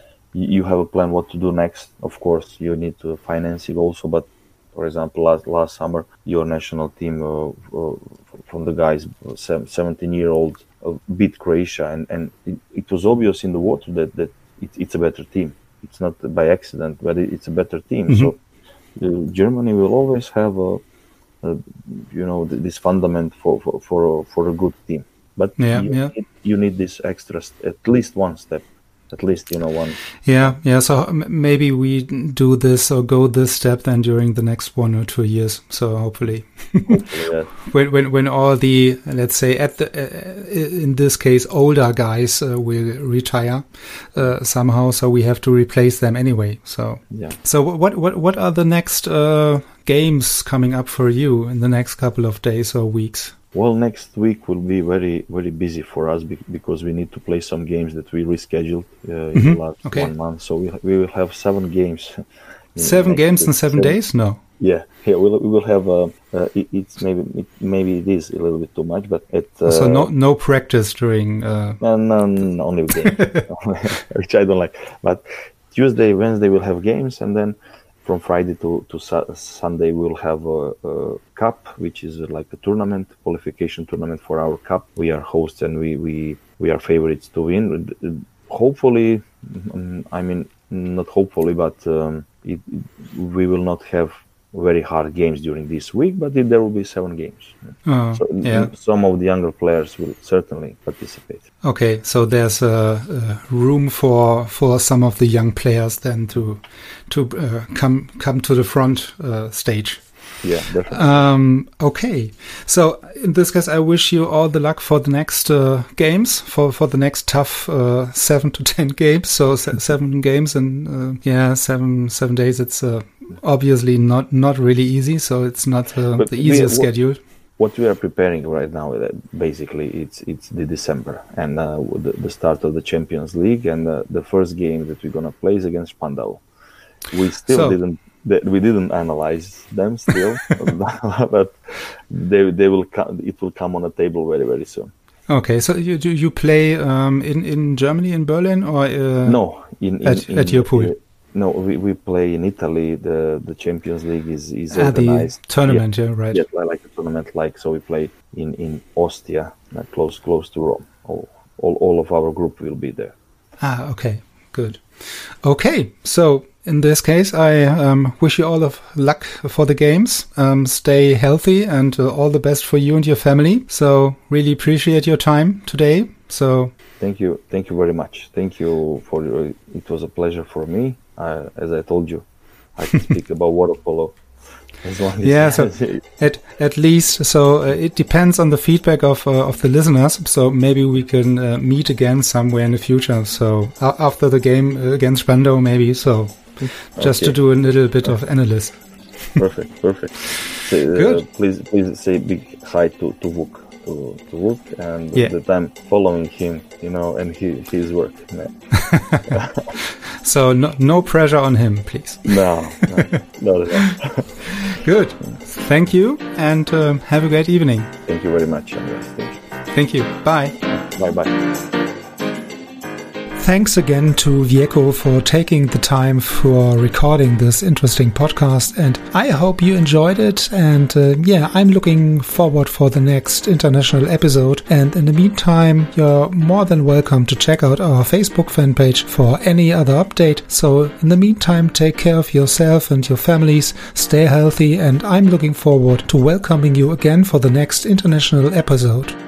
Speaker 3: you have a plan what to do next. Of course, you need to finance it also, but. For example, last last summer, your national team uh, uh, from the guys, seventeen-year-old, uh, beat Croatia, and, and it, it was obvious in the water that, that it, it's a better team. It's not by accident, but it, it's a better team. Mm-hmm. So uh, Germany will always have a, a you know, this fundament for for for a, for a good team. But
Speaker 2: yeah,
Speaker 3: you,
Speaker 2: yeah.
Speaker 3: Need, you need this extra, st- at least one step. At least, you know, one.
Speaker 2: Yeah, yeah. So m- maybe we do this or go this step then during the next one or two years. So hopefully,
Speaker 3: hopefully yeah.
Speaker 2: when when when all the, let's say at the uh, in this case older guys uh, will retire uh, somehow, so we have to replace them anyway. So
Speaker 3: yeah.
Speaker 2: So what what what are the next uh, games coming up for you in the next couple of days or weeks?
Speaker 3: Well, next week will be very, very busy for us be- because we need to play some games that we rescheduled uh, in
Speaker 2: mm-hmm.
Speaker 3: the last
Speaker 2: okay.
Speaker 3: one month. So we we will have seven games.
Speaker 2: Seven games week. in seven, seven days? No.
Speaker 3: Yeah, yeah. We'll, we will have. Uh, uh, it, it's maybe it, maybe it is a little bit too much, but it. Uh,
Speaker 2: so no no practice during. Uh...
Speaker 3: No, no, no, only games, which I don't like. But Tuesday, Wednesday we'll have games, and then. From Friday to, to su- Sunday, we'll have a, a cup, which is like a tournament, qualification tournament for our cup. We are hosts and we, we, we are favorites to win. Hopefully, I mean, not hopefully, but um, it, it, we will not have very hard games during this week, but it, there will be seven games.
Speaker 2: Oh,
Speaker 3: so
Speaker 2: yeah.
Speaker 3: Some of the younger players will certainly participate.
Speaker 2: Okay, so there's a, a room for for some of the young players then to to uh, come come to the front uh, stage.
Speaker 3: Yeah, definitely.
Speaker 2: Um, okay, so in this case, I wish you all the luck for the next uh, games, for, for the next tough uh, seven to ten games. So se- seven games in uh, yeah seven seven days. It's uh, obviously not not really easy. So it's not uh, the easiest
Speaker 3: we, what,
Speaker 2: schedule.
Speaker 3: What we are preparing right now, basically, it's it's the December and uh, the, the start of the Champions League, and uh, the first game that we're gonna play is against Spandau. We still
Speaker 2: so,
Speaker 3: didn't. We didn't analyze them still, but they they will come, it will come on the table very very soon.
Speaker 2: Okay, so you do you play um, in in Germany, in Berlin, or uh,
Speaker 3: no in, in,
Speaker 2: at,
Speaker 3: in
Speaker 2: at your pool?
Speaker 3: Uh, no, we, we play in Italy. The the Champions League is is
Speaker 2: ah,
Speaker 3: organized
Speaker 2: the tournament.
Speaker 3: yeah,
Speaker 2: Yeah, right.
Speaker 3: Yeah, like a tournament, like so we play in in Ostia, uh, close close to Rome. All, all all of our group will be there.
Speaker 2: Ah, okay, good. Okay, so. In this case, I um, wish you all of luck for the games. Um, stay healthy and uh, all the best for you and your family. So really appreciate your time today. So
Speaker 3: thank you, thank you very much. Thank you for your, it was a pleasure for me. Uh, as I told you, I can speak about water polo. As long as
Speaker 2: yeah, so at at least so uh, it depends on the feedback of uh, of the listeners. So maybe we can uh, meet again somewhere in the future. So uh, after the game against Spandau, maybe so. Just okay. to do a little bit of analysis.
Speaker 3: Perfect, perfect. Say, uh,
Speaker 2: Good.
Speaker 3: Please, please say big hi to to Vuk. to, to look, and
Speaker 2: yeah.
Speaker 3: that I'm following him, you know, and he, his work. Yeah.
Speaker 2: So no, no pressure on him, please.
Speaker 3: No, no, not at all.
Speaker 2: Good. Thank you, and um, have a great evening.
Speaker 3: Thank you very much, Andreas. Thank you.
Speaker 2: Thank you. Bye.
Speaker 3: Bye-bye.
Speaker 2: Thanks again to Vjeko for taking the time for recording this interesting podcast, and I hope you enjoyed it. And uh, yeah, I'm looking forward for the next international episode. And in the meantime, you're more than welcome to check out our Facebook fan page for any other update. So in the meantime, take care of yourself and your families, stay healthy, and I'm looking forward to welcoming you again for the next international episode.